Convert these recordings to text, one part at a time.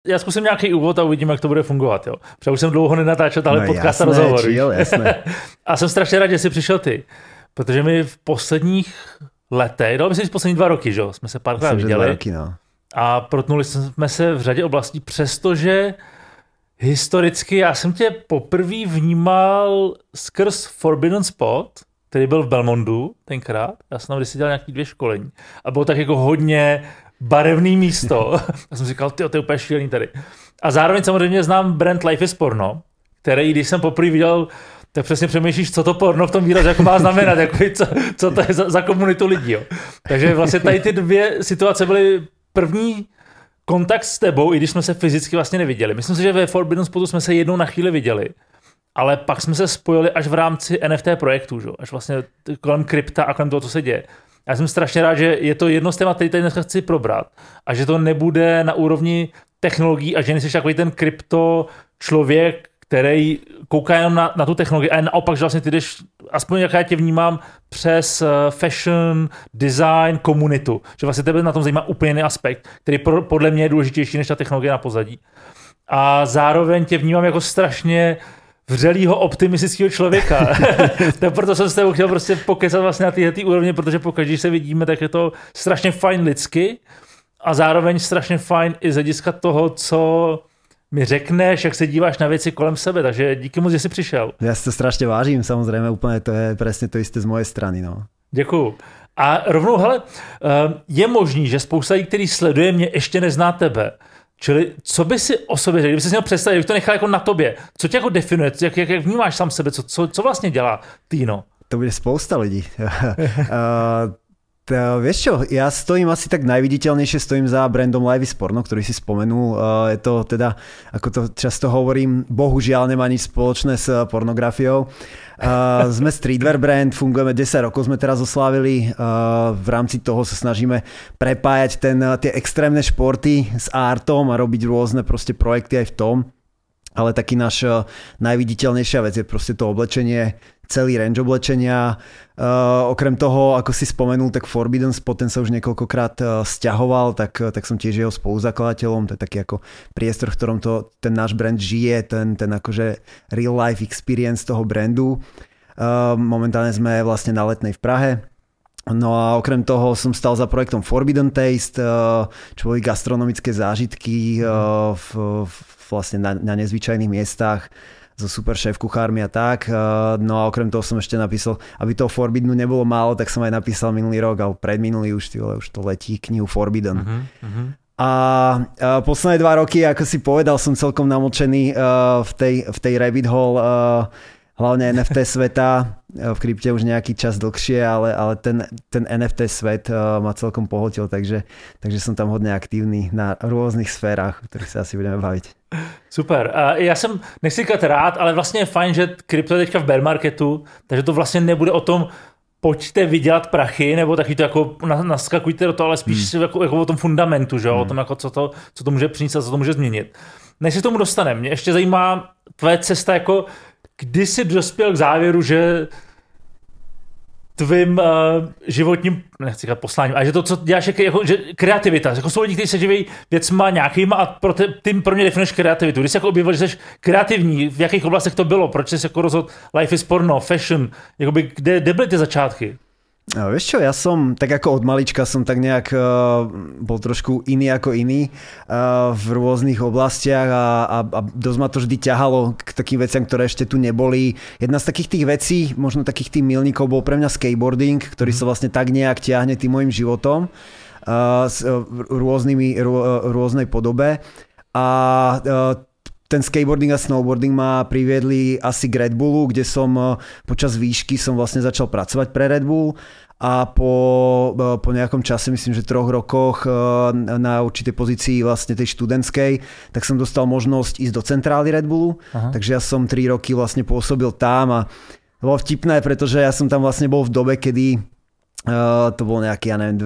Já zkusím nějaký úvod a uvidím, jak to bude fungovat. Jo. Protože už jsem dlouho nenatáčel tahle podcast a rozhovor. Jasné. A jsem strašně rád, že jsi přišel ty. Protože my v posledních letech, dalo by se říct poslední 2 roky, že? Jsme se párkrát viděli. 2 roky, no. A protnuli jsme se v řadě oblastí, přestože historicky já jsem tě poprvé vnímal skrz Forbidden Spot, který byl v Belmondu tenkrát. Já jsem tam kdysi dělal nějaký 2 školení. A bylo tak jako hodně barevný místo. Já jsem si říkal, to je úplně šílený tady. A zároveň samozřejmě znám brand Life is Porno, který, když jsem poprvé viděl, tak přesně přemýšlíš, co to porno v tom výrazu jako má znamenat, jako, co to je za komunitu lidí. Jo. Takže vlastně tady ty 2 situace byly první kontakt s tebou, i když jsme se fyzicky vlastně neviděli. Myslím si, že ve Forbidden Spotu jsme se jednou na chvíli viděli, ale pak jsme se spojili až v rámci NFT projektu, že? Až vlastně kolem krypta a kolem toho, co se děje. Já jsem strašně rád, že je to jedno z témat, který tady dneska chci probrat a že to nebude na úrovni technologií a že nejsi takový ten krypto člověk, který kouká jenom na tu technologii a naopak, že vlastně ty jdeš, aspoň jak já tě vnímám, přes fashion, design, komunitu. Že vlastně tebe na tom zajímá úplně jiný aspekt, který podle mě je důležitější než ta technologie na pozadí. A zároveň tě vnímám jako strašně vřelýho optimistického člověka. Tak proto jsem s tebou chtěl prostě pokecat vlastně na této úrovni, protože pokud když se vidíme, tak je to strašně fajn lidsky a zároveň strašně fajn i z hlediska toho, co mi řekneš, jak se díváš na věci kolem sebe, takže díky moc, že jsi přišel. Já si to strašně vážím, samozřejmě úplně to je přesně to jisté z mojej strany. No. Děkuju. A rovnou, hele, je možný, že spousta lidí, který sleduje mě, ještě nezná tebe. Čili co by si o sobě řekl, kdyby si měl představit, kdyby to nechal jako na tobě, co tě jako definuje, jak vnímáš sám sebe, co vlastně dělá Tino? To bude spousta lidí. Vieš čo, ja stojím asi tak najviditeľnejšie, stojím za brandom Life is Porno, ktorý si spomenul. Je to teda, ako to často hovorím, bohužiaľ nemá nič spoločné s pornografiou. Sme streetwear brand, fungujeme 10 rokov, sme teraz oslávili. V rámci toho sa snažíme prepájať tie extrémne športy s artom a robiť rôzne proste projekty aj v tom. Ale taký náš najviditeľnejšia vec je proste to oblečenie, celý range oblečenia. Okrem toho, ako si spomenul, tak Forbidden Spot, ten sa už niekoľkokrát sťahoval, tak som tiež jeho spoluzakladateľom. To je taký ako priestor, v ktorom ten náš brand žije, ten akože real life experience toho brandu. Momentálne sme vlastne na Letnej v Prahe. No a okrem toho som stal za projektom Forbidden Taste, čo boli gastronomické zážitky vlastne na nezvyčajných miestach so super šéf kuchármi a tak. No a okrem toho som ešte napísal, aby toho Forbiddenu nebolo málo, tak som aj napísal minulý rok, alebo predminulý už to letí, knihu Forbidden. A posledné 2 roky, ako si povedal, som celkom namočený v tej rabbit hole, hlavne NFT sveta, v krypte už nejaký čas dlhšie, ale ten NFT svet ma celkom pohltil, takže som tam hodne aktívny na rôznych sférách, o ktorých sa asi budeme baviť. Super. Já jsem, nechci říkat rád, ale vlastně je fajn, že krypto je teďka v bear marketu, takže to vlastně nebude o tom, pojďte vydělat prachy, nebo taky to jako naskakujte do toho, ale spíš jako o tom fundamentu, že? O tom, jako co to může přinést a co to může změnit. Než se tomu dostaneme, mě ještě zajímá tvoje cesta, jako kdy jsi dospěl k závěru, že tvým životním, nechci říkat posláním, ale že to, co děláš, jako, že kreativita, jako jsou lidi, kteří se živí věcma nějakýma a pro mě definuješ kreativitu. Když jsi jako objevil, že jsi kreativní, v jakých oblastech to bylo, proč jsi jako rozhodl Life is Porno, fashion, jakoby, kde byly ty začátky? Vieš čo, ja som tak ako od malička som tak nejak bol trošku iný ako iný v rôznych oblastiach a dosť ma to vždy ťahalo k takým veciam, ktoré ešte tu neboli. Jedna z takých tých vecí, možno takých tých milníkov bol pre mňa skateboarding, ktorý sa vlastne tak nejak ťahne tým mojim životom s rôznej podobe a ten skateboarding a snowboarding ma priviedli asi k Red Bullu, kde som počas výšky som vlastne začal pracovať pre Red Bull a po nejakom čase, myslím, že 3 rokoch na určitej pozícii vlastne tej študentskej, tak som dostal možnosť ísť do centrály Red Bullu. Aha. Takže ja som 3 roky vlastne pôsobil tam a bolo vtipné, pretože ja som tam vlastne bol v dobe, kedy to bol nejaký, ja neviem,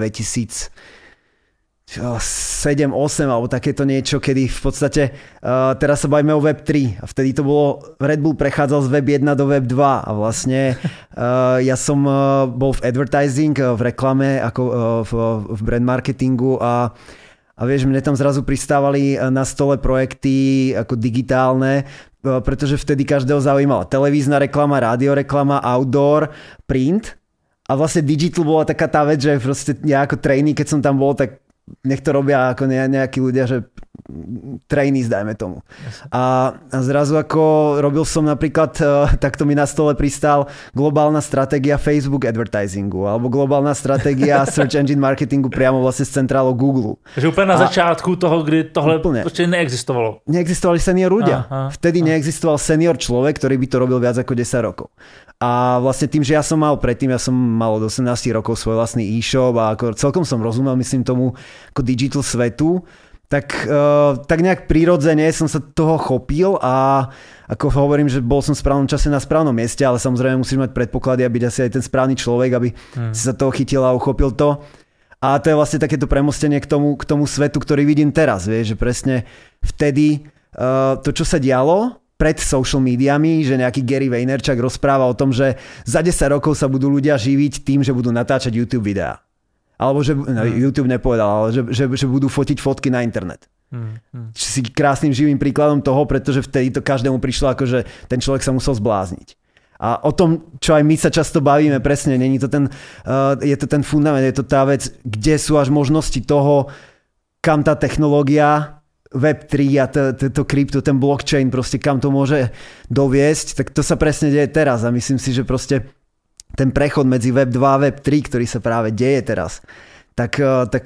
7, 8 alebo takéto niečo, kedy v podstate teraz sa bavíme o Web3 a vtedy to bolo, Red Bull prechádzal z Web 1 do Web 2 a vlastne ja som bol v advertising, v reklame, ako v brand marketingu a a vieš, mne tam zrazu pristávali na stole projekty ako digitálne, pretože vtedy každého zaujímala televízna reklama, rádioreklama, outdoor, print a vlastne digital bola taká tá vec, že proste ja ako trainee, keď som tam bol, tak nech to robia ako nejakí ľudia, že trainees, dajme tomu. A zrazu ako robil som napríklad, takto mi na stole pristál globálna stratégia Facebook advertisingu alebo globálna stratégia search engine marketingu priamo vlastne z centrálu Google. Takže úplne na začiatku toho, kdy tohle ešte neexistovalo. Neexistovali senior ľudia. Vtedy neexistoval senior človek, ktorý by to robil viac ako 10 rokov. A vlastne tým, že ja som mal od 18 rokov svoj vlastný e-shop a ako celkom som rozumel, myslím tomu, ako digital svetu, tak nejak prirodzene som sa toho chopil a ako hovorím, že bol som v správnom čase na správnom mieste, ale samozrejme musíš mať predpoklady a byť asi aj ten správny človek, aby si sa toho chytil a uchopil to. A to je vlastne takéto premostenie k tomu svetu, ktorý vidím teraz, vieš, že presne vtedy to, čo sa dialo pred social médiami, že nejaký Gary Vaynerchuk rozpráva o tom, že za 10 rokov sa budú ľudia živiť tým, že budú natáčať YouTube videá. Alebo že YouTube nepovedal, ale že budú fotiť fotky na internet. Čiže si krásnym živým príkladom toho, pretože vtedy to každému prišlo ako, že ten človek sa musel zblázniť. A o tom, čo aj my sa často bavíme, presne, není to je to ten fundament, je to tá vec, kde sú až možnosti toho, kam tá technológia Web3 a to krypto, ten blockchain, proste kam to môže doviesť, tak to sa presne deje teraz a myslím si, že proste ten prechod medzi Web 2 a Web 3, ktorý sa práve deje teraz, tak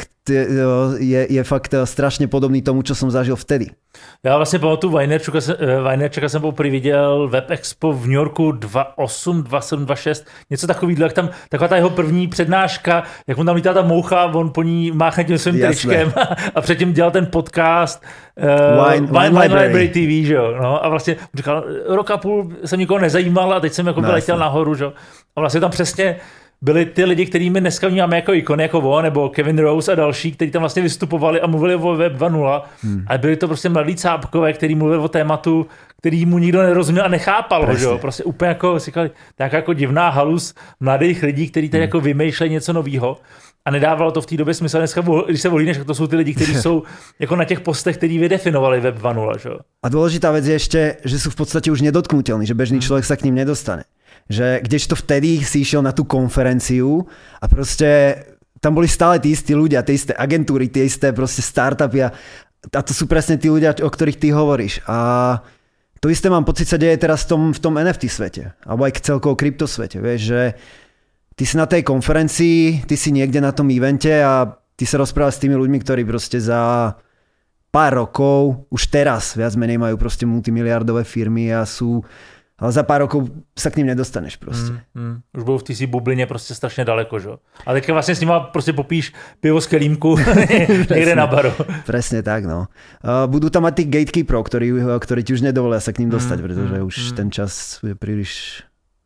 je fakt strašně podobný tomu, čo som zažil vtedy. Já vlastně pamatuju Vaynerchuka jsem poprvé viděl Web Expo v New Yorku 28, 27, 26, něco takového, jak tam taková ta jeho první přednáška, jak mu tam lítá ta moucha, on po ní máchne tím svým tričkem a předtím dělal ten podcast Wine Library TV, že jo, no, a vlastně říkal, rok a půl jsem nikoho nezajímal a teď jsem jako letěl nahoru, že jo, a vlastně tam přesně byli ty lidi, kterými dneska vnímáme jako ikony, jako on, nebo Kevin Rose a další, kteří tam vlastně vystupovali a mluvili o Web 2.0, ale byli to prostě mladí cápkové, kteří mluvili o tématu, který mu nikdo nerozuměl a nechápal, že jo? Prostě úplně jako si říkali, tak jako divná halus mladých lidí, kteří tady jako vymýšlejí něco nového. A nedávalo to v té době smysl. Dneska, když se volíš, tak to jsou ty lidi, kteří jsou jako na těch postech, kteří vydefinovali Web 2.0, že jo? A dôležitá vec je ešte, že sú v podstate už nedotknutelní, že bežný človek sa k ním nedostane. Že kdežto vtedy si išiel na tú konferenciu a proste tam boli stále tí istí ľudia, tie isté agentúry, tie isté proste startupy a to sú presne tí ľudia, o ktorých ty hovoríš. A to isté mám pocit sa deje teraz v tom NFT svete, alebo aj celkovo kryptosvete. Vieš, že ty si na tej konferencii, ty si niekde na tom evente a ty sa rozprávaš s tými ľuďmi, ktorí proste za pár rokov, už teraz viac menej majú proste multimiliardové firmy a sú, ale za pár rokov sa k ním nedostaneš proste. Už budou v té bublině prostě strašně daleko, že? A teďka vlastně s nima prostě popíš pivo z kelímku někde na baru. Presne tak, no. Budú tam mať tých gatekeeperov, ktorí ti už nedovolia sa k ním dostať, pretože už ten čas je príliš...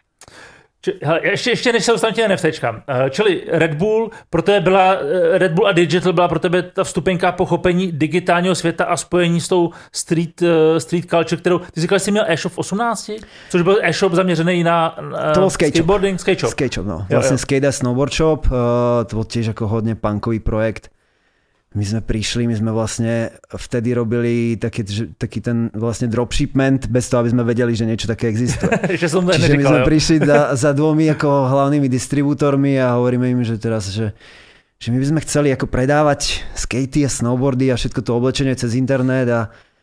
Ještě než se dostanu těm NFTčkám. Čili Red Bull a Digital byla pro tebe ta vstupenka pochopení digitálního světa a spojení s tou street culture, kterou ty říkal, že jsi měl e-shop v 18, což byl e-shop zaměřený na skateboarding, skate shop. No. Vlastne skate a snowboard shop, to bol tiež ako hodne punkový projekt. My sme vlastne vtedy robili taký ten vlastne dropshipment bez toho, aby sme vedeli, že niečo také existuje. Čiže my sme prišli za dvomi ako hlavnými distribútormi a hovoríme im, že teraz, že my by sme chceli ako predávať skatey a snowboardy a všetko to oblečenie cez internet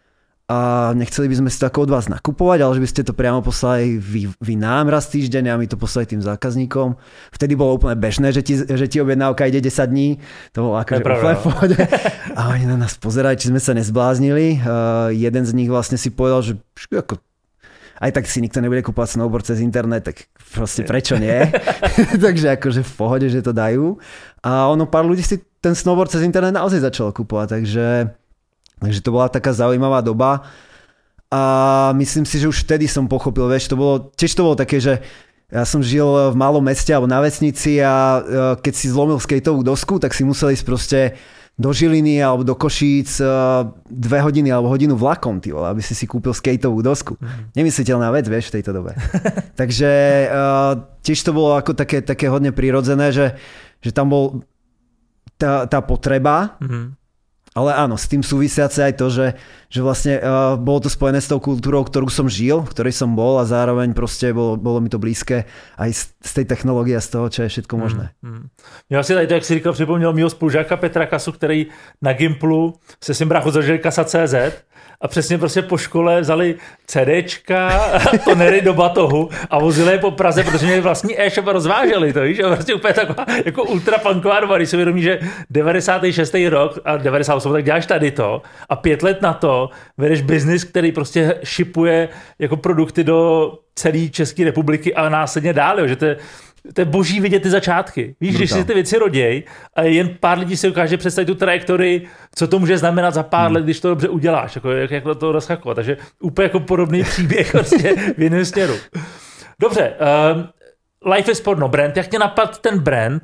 a nechceli by sme si to ako od vás nakupovať, ale že by ste to priamo poslali vy nám raz týždeň a my to poslali tým zákazníkom. Vtedy bolo úplne bežné, že ti objednávka ide 10 dní. To bolo akože úplne v pohode. A oni na nás pozerali, či sme sa nezbláznili. Jeden z nich vlastne si povedal, že ako, aj tak si nikto nebude kúpať snowboard cez internet, tak proste prečo nie? Takže akože v pohode, že to dajú. A pár ľudí si ten snowboard cez internet naozaj začalo kúpovať, Takže to bola taká zaujímavá doba a myslím si, že už vtedy som pochopil, vieš, to bolo také, že ja som žil v malom meste alebo na vesnici a keď si zlomil skateovú dosku, tak si musel ísť proste do Žiliny alebo do Košíc 2 hodiny alebo hodinu vlakom, aby si kúpil skateovú dosku. Nemysliteľná vec, vieš, v tejto dobe. Takže tiež to bolo ako také hodne prirodzené, že tam bol tá potreba. Ale áno, s tým súvisiace aj to, že vlastne bolo to spojené s tou kultúrou, ktorú som žil, v ktorej som bol a zároveň proste bolo mi to blízke aj z tej technológie a z toho, čo je všetko možné. Já si tady to, jak si říkal, připomněl mýho spolužáka Petra Kasu, který na Gimplu se svým bráchou zažil kasa.cz a přesně prostě po škole vzali CDčka, tonery do batohu a vozili je po Praze, protože měli vlastní e-shop a rozváželi to, víš? A prostě úplně taková jako ultrapunková doba, když se vědomí, že 96. rok a 98. tak děláš tady to a 5 let na to vedeš biznis, který prostě shipuje jako produkty do celé České republiky a následně dál, jo? Že to je boží vidět ty začátky. Víš, když si ty věci roděj a jen pár lidí si ukáže představit tu trajektorii, co to může znamenat za pár let, když to dobře uděláš, jako, jak to rozchakovat. Takže úplně jako podobný příběh vlastně v jiném směru. Dobře, Life is Porno brand. Jak tě napadl ten brand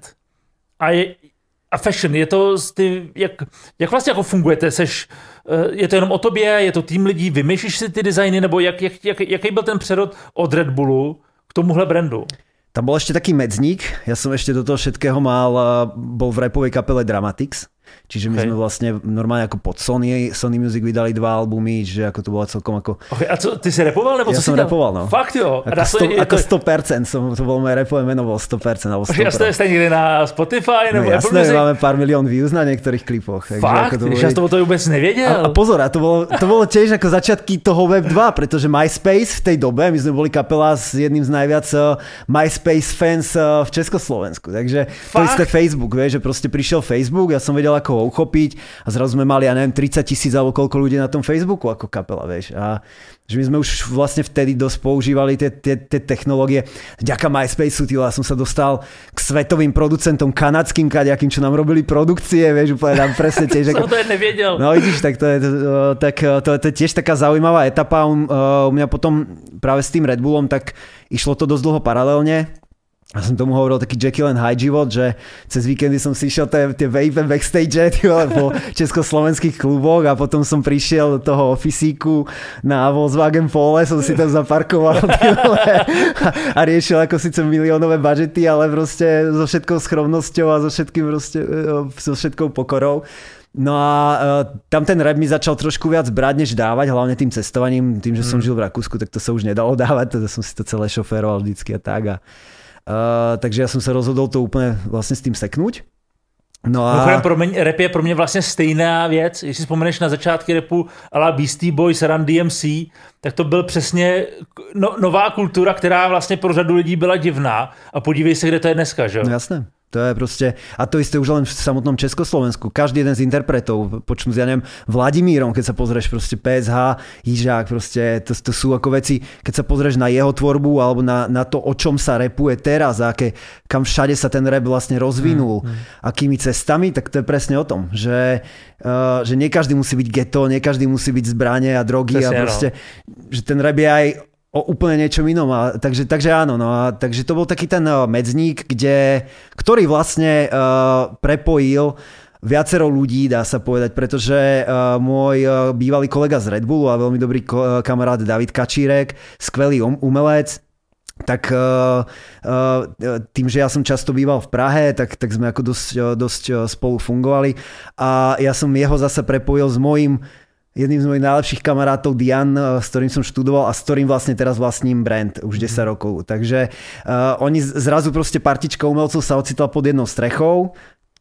a fashion? Je to jak vlastně jako fungujete? Je to jenom o tobě, je to tým lidí, vymýšlíš si ty designy, nebo jaký byl ten přerod od Red Bullu k tomuhle brandu? Tam bol ešte taký medzník, ja som ešte do toho všetkého bol v rapovej kapele Dramatics, čiže my sme vlastne normálne ako pod Sony Music vydali 2 albumy, že ako to bolo celkom ako... Okay, a co, ty si rapoval, nebo ja co si tam? Ja som rapoval, no. Fakt jo? Ako 100%, to bolo moje rapové meno, bolo 100%. Alebo 100%. A ste niekde na Spotify? Nebo no jasné, máme pár milión views na niektorých klipoch. Fakt? Ja som to vôbec nevedel. A pozor, a to bolo tiež ako začiatky toho Web 2, pretože MySpace v tej dobe, my sme boli kapela s jedným z najviac MySpace fans v Československu. Takže to isté Facebook, vieš, že proste prišiel Facebook, ja som vedel, ako ho uchopiť a zrazu sme mali, ja neviem, 30,000 alebo koľko ľudí na tom Facebooku ako kapela, vieš. A že my sme už vlastne vtedy dosť používali tie technológie. Vďaka MySpaceu, ja som sa dostal k svetovým producentom kanadským kaďakým, čo nám robili produkcie, vieš, úplne nám presne tiež. Som to nevedel. No vidíš, tak to je tiež taká zaujímavá etapa. U mňa potom práve s tým Red Bullom, tak išlo to dosť dlho paralelne. Ja som tomu hovoril taký Jekyll and Hyde život, že cez víkendy som si išiel tie vape backstage po československých kluboch a potom som prišiel do toho ofisíku na Volkswagen Pole, som si tam zaparkoval a riešil ako síce miliónové budžety, ale proste so všetkou skromnosťou a so všetkou pokorou. No a tam ten rap mi začal trošku viac brať, než dávať, hlavne tým cestovaním, tým, že som žil v Rakúsku, tak to sa už nedalo dávať, teda som si to celé šoféroval vždycky a tak. Takže ja som sa rozhodol to úplne vlastne s tým seknúť. No a... Rap je pro mě vlastně stejná věc. Jestli vzpomeneš na začátky rapu a la Beastie Boys, Run DMC, tak to byl přesně nová kultura, která vlastně pro řadu lidí byla divná. A podívej se, kde to je dneska, že jo? No jasné. To je proste, a to isté už len v samotnom Československu. Každý jeden z interpretov, počnú s, ja neviem, Vladimírom, keď sa pozrieš proste PSH, Jižák, proste to sú ako veci, keď sa pozrieš na jeho tvorbu alebo na to, o čom sa rapuje teraz a kam všade sa ten rap vlastne rozvinul, akými cestami, tak to je presne o tom, že nie každý musí byť ghetto, nie každý musí byť zbrane a drogy a proste, že ten rap je aj o úplne niečom inom. Takže áno, no a takže to bol taký ten medzník, ktorý vlastne prepojil viacero ľudí, dá sa povedať, pretože môj bývalý kolega z Red Bullu a veľmi dobrý kamarát David Kačírek, skvelý umelec, tak tým, že ja som často býval v Prahe, tak sme ako dosť spolu fungovali a ja som jeho zase prepojil s jedným z mojich najlepších kamarátov Dian, s ktorým som študoval a s ktorým vlastne teraz vlastním brand už 10 rokov. Takže oni zrazu proste partička umelcov sa ocitla pod jednou strechou.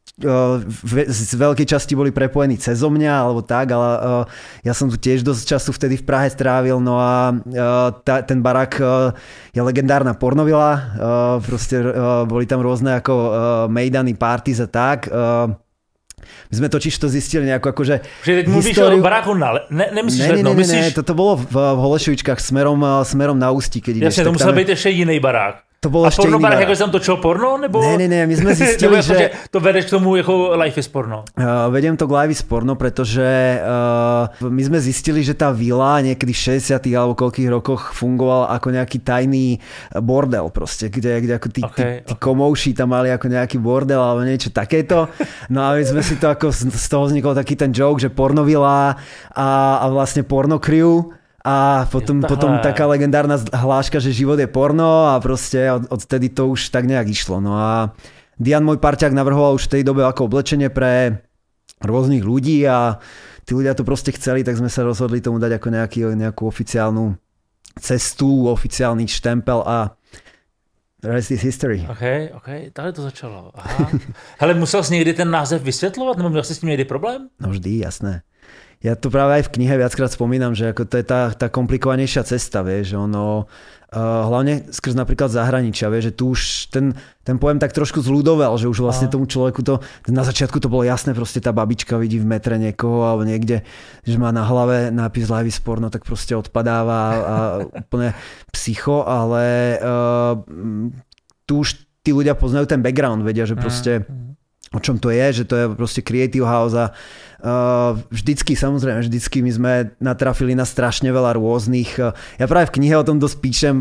Z veľkej časti boli prepojení cezo mňa alebo tak, ale ja som tu tiež dosť času vtedy v Prahe strávil, no a ten barák je legendárna pornovila, proste boli tam rôzne ako mejdany, parties a tak. My sme totiž to zistili nejakú akože... Že teď mluvíš o baráku nemyslíš Letnou, myslíš... Ne, toto bolo v Holešovičkách smerom na Ústí, keď ideš. Jasne, to musel byť ešte iný barák. To bolo ešte iný barák. A porno barák, ako som točil porno? Nebo... Ne, my sme zistili, že... To vedeš k tomu ako Life is Porno. Vediem to k Life is Porno, pretože my sme zistili, že tá vila niekedy v 60. alebo koľkých rokoch fungovala ako nejaký tajný bordel proste, kde ako tí komouši tam mali ako nejaký bordel alebo niečo takéto. No a my sme si to ako z toho vznikol taký ten joke, že pornovila a vlastne porno crew. A potom taká legendárna hláška, že život je porno a proste odtedy to už tak nejak išlo. No a Dian, môj parťák, navrhoval už v tej dobe ako oblečenie pre rôznych ľudí a tí ľudia to proste chceli, tak sme sa rozhodli tomu dať ako nejakú oficiálnu cestu, oficiálny štempel a rest is history. OK, tady to začalo. Aha. Hele, musel jsi někdy ten název vysvětlovat, nebo měl jsi s tím někdy problém? No vždy, jasné. Ja to práve aj v knihe viackrát spomínam, že ako to je tá komplikovanejšia cesta, vieš, ono hlavne skrz napríklad zahraničia, vieš, že tu už ten pojem tak trošku zľudovel, že už vlastne tomu človeku to, na začiatku to bolo jasné, proste tá babička vidí v metre niekoho alebo niekde, že má na hlave nápis Live is Porno, tak proste odpadáva a úplne psycho, ale tu už tí ľudia poznajú ten background, vedia, že proste o čom to je, že to je proste creative house a vždycky my sme natrafili na strašne veľa rôznych. Ja práve v knihe o tom dosť píšem,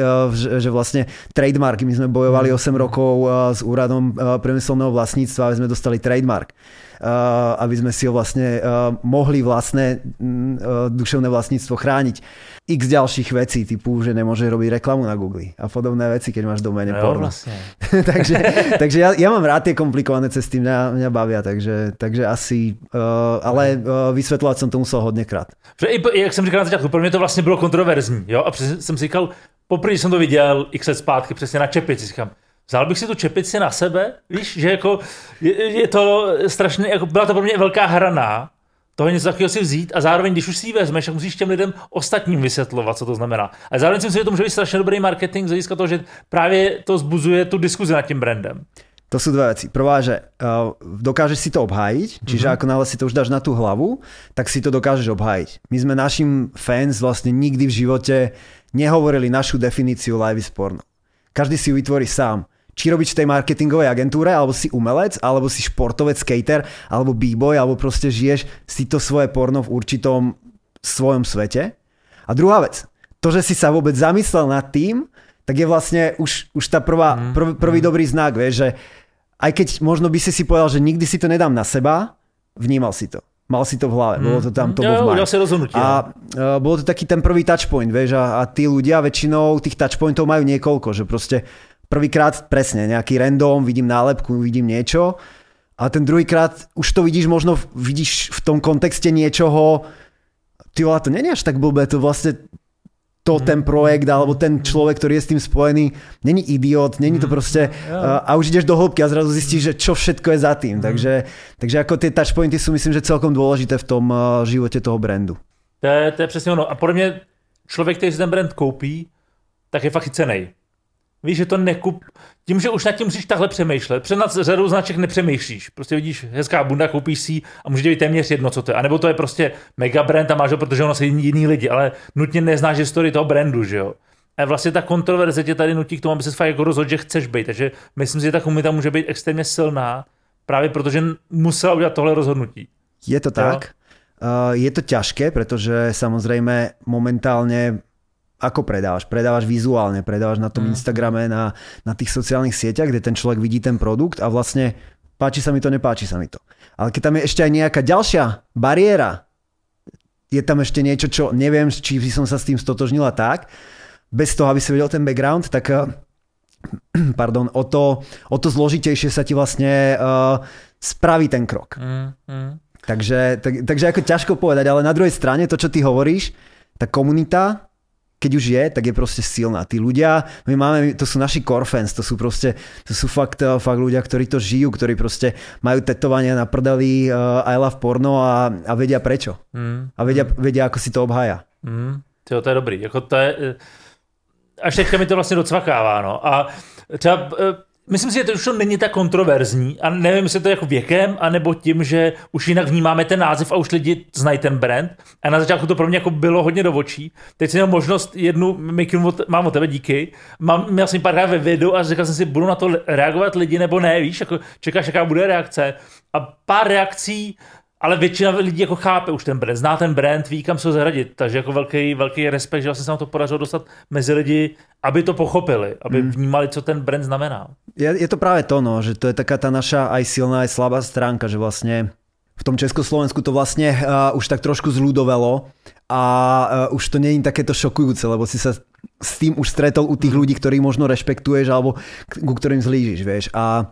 že vlastne trademark, my sme bojovali 8 rokov s úradom priemyselného vlastníctva, aby sme dostali trademark. Aby sme si ho vlastne mohli vlastné duševné vlastníctvo chrániť. X ďalších vecí, typu, že nemôže robiť reklamu na Google a podobné veci, keď máš doméne porno. Vlastne. takže ja mám rád tie komplikované cesty, mňa bavia, takže asi, ale vysvetľovať som to musel hodněkrát. Jak jsem říkal na začátku, pro mě to vlastně bylo kontroverzní, jo, a přesně jsem si říkal, poprvé jsem to viděl x let zpátky, přesně na čepici, říkám, vzal bych si tu čepici na sebe, víš, že jako je to strašně, jako byla to pro mě velká hraná, toho něco takového si vzít a zároveň, když už si ji vezmeš, tak musíš těm lidem ostatním vysvětlovat, co to znamená. A zároveň si myslím, že to může být strašně dobrý marketing z hlediska toho, že právě to vzbuzuje tu diskuzi nad tím brandem. To sú dve veci. Prvá, že dokážeš si to obhájiť, čiže ako náhle si to už dáš na tú hlavu, tak si to dokážeš obhájiť. My sme našim fans vlastne nikdy v živote nehovorili našu definíciu Live is Porno. Každý si ju vytvorí sám. Či robiť v tej marketingovej agentúre, alebo si umelec, alebo si športovec, skater, alebo b-boy, alebo proste žiješ si to svoje porno v určitom svojom svete. A druhá vec, to, že si sa vôbec zamyslel nad tým, tak je vlastne už tá prvý dobrý znak, vieš, že aj keď možno by si povedal, že nikdy si to nedám na seba, vnímal si to. Mal si to v hlave, bolo to tam top of mind. A bolo to taký ten prvý touchpoint, vieš, a tí ľudia väčšinou tých touchpointov majú niekoľko, že proste prvýkrát presne nejaký random, vidím nálepku, vidím niečo a ten druhýkrát už to vidíš v tom kontexte niečoho, ty vole, to nie je až tak blbé, to vlastne ten projekt alebo ten človek, ktorý je s tým spojený, není idiot, není to proste a už ideš do hĺbky a zrazu zistíš, že čo všetko je za tým. Takže ako tie touchpointy sú myslím, že celkom dôležité v tom živote toho brandu. To je přesně ono. A podle mě člověk, který si ten brand koupí, tak je fakt chycenej. Víš, že to nekup... Tím, že už nad tím musíš takhle přemýšlet. Před řadou značek nepřemýšlíš. Prostě vidíš hezká bunda, koupíš si a může být téměř jedno, co to je. A nebo to je prostě mega brand a máš ho, protože ono se jiný lidi, ale nutně neznáš historii toho brandu, že jo. A vlastně ta kontroverze tě tady nutí k tomu, aby se fakt jako rozhodl, že chceš být. Takže myslím si, že ta komunita může být extrémně silná, právě protože musela udělat tohle rozhodnutí. Je to tak. Je to ťažké, pretože samozrejme momentálne ako predávaš vizuálne, predávaš na tom Instagrame, na tých sociálnych sieťach, kde ten človek vidí ten produkt a vlastne páči sa mi to, nepáči sa mi to. Ale keď tam je ešte aj nejaká ďalšia bariéra, je tam ešte niečo, čo neviem, či som sa s tým stotožnila tak, bez toho, aby si vedel ten background, tak o to zložitejšie sa ti vlastne spraví ten krok. Takže ako ťažko povedať, ale na druhej strane to, čo ty hovoríš, tá komunita, keď už je, tak je proste silná. Tí ľudia, to sú naši core fans, to sú fakt ľudia, ktorí to žijú, ktorí proste majú tetovania na prdeli I love porno a vedia prečo. A vedia, ako si to obhája. To je dobrý. Jako to je... Až teďka mi to vlastně docvakává. No. A třeba... Myslím si, že to už není tak kontroverzní a nevím, jestli to je jako věkem, anebo tím, že už jinak vnímáme ten název a už lidi znají ten brand. A na začátku to pro mě jako bylo hodně do očí. Teď jsem měl možnost mám od tebe, díky. Měl jsem párkrát ve videu a říkal jsem si, budu na to reagovat lidi nebo ne, víš, jako čekáš, jaká bude reakce. A pár reakcí, ale většina lidí jako chápe už ten brand, zná ten brand, ví, kam se ho zaradit. Takže jako velký respekt, že vlastně se nám to podařilo dostat mezi lidi, aby to pochopili, aby vnímali, co ten brand znamená. Je to práve to, no, že to je taká tá naša aj silná, aj slabá stránka, že vlastne v tom Československu to vlastne už tak trošku zľudovelo a už to nie je takéto šokujúce, lebo si sa s tým už stretol u tých ľudí, ktorých možno rešpektuješ alebo ku ktorým zlížiš, vieš. A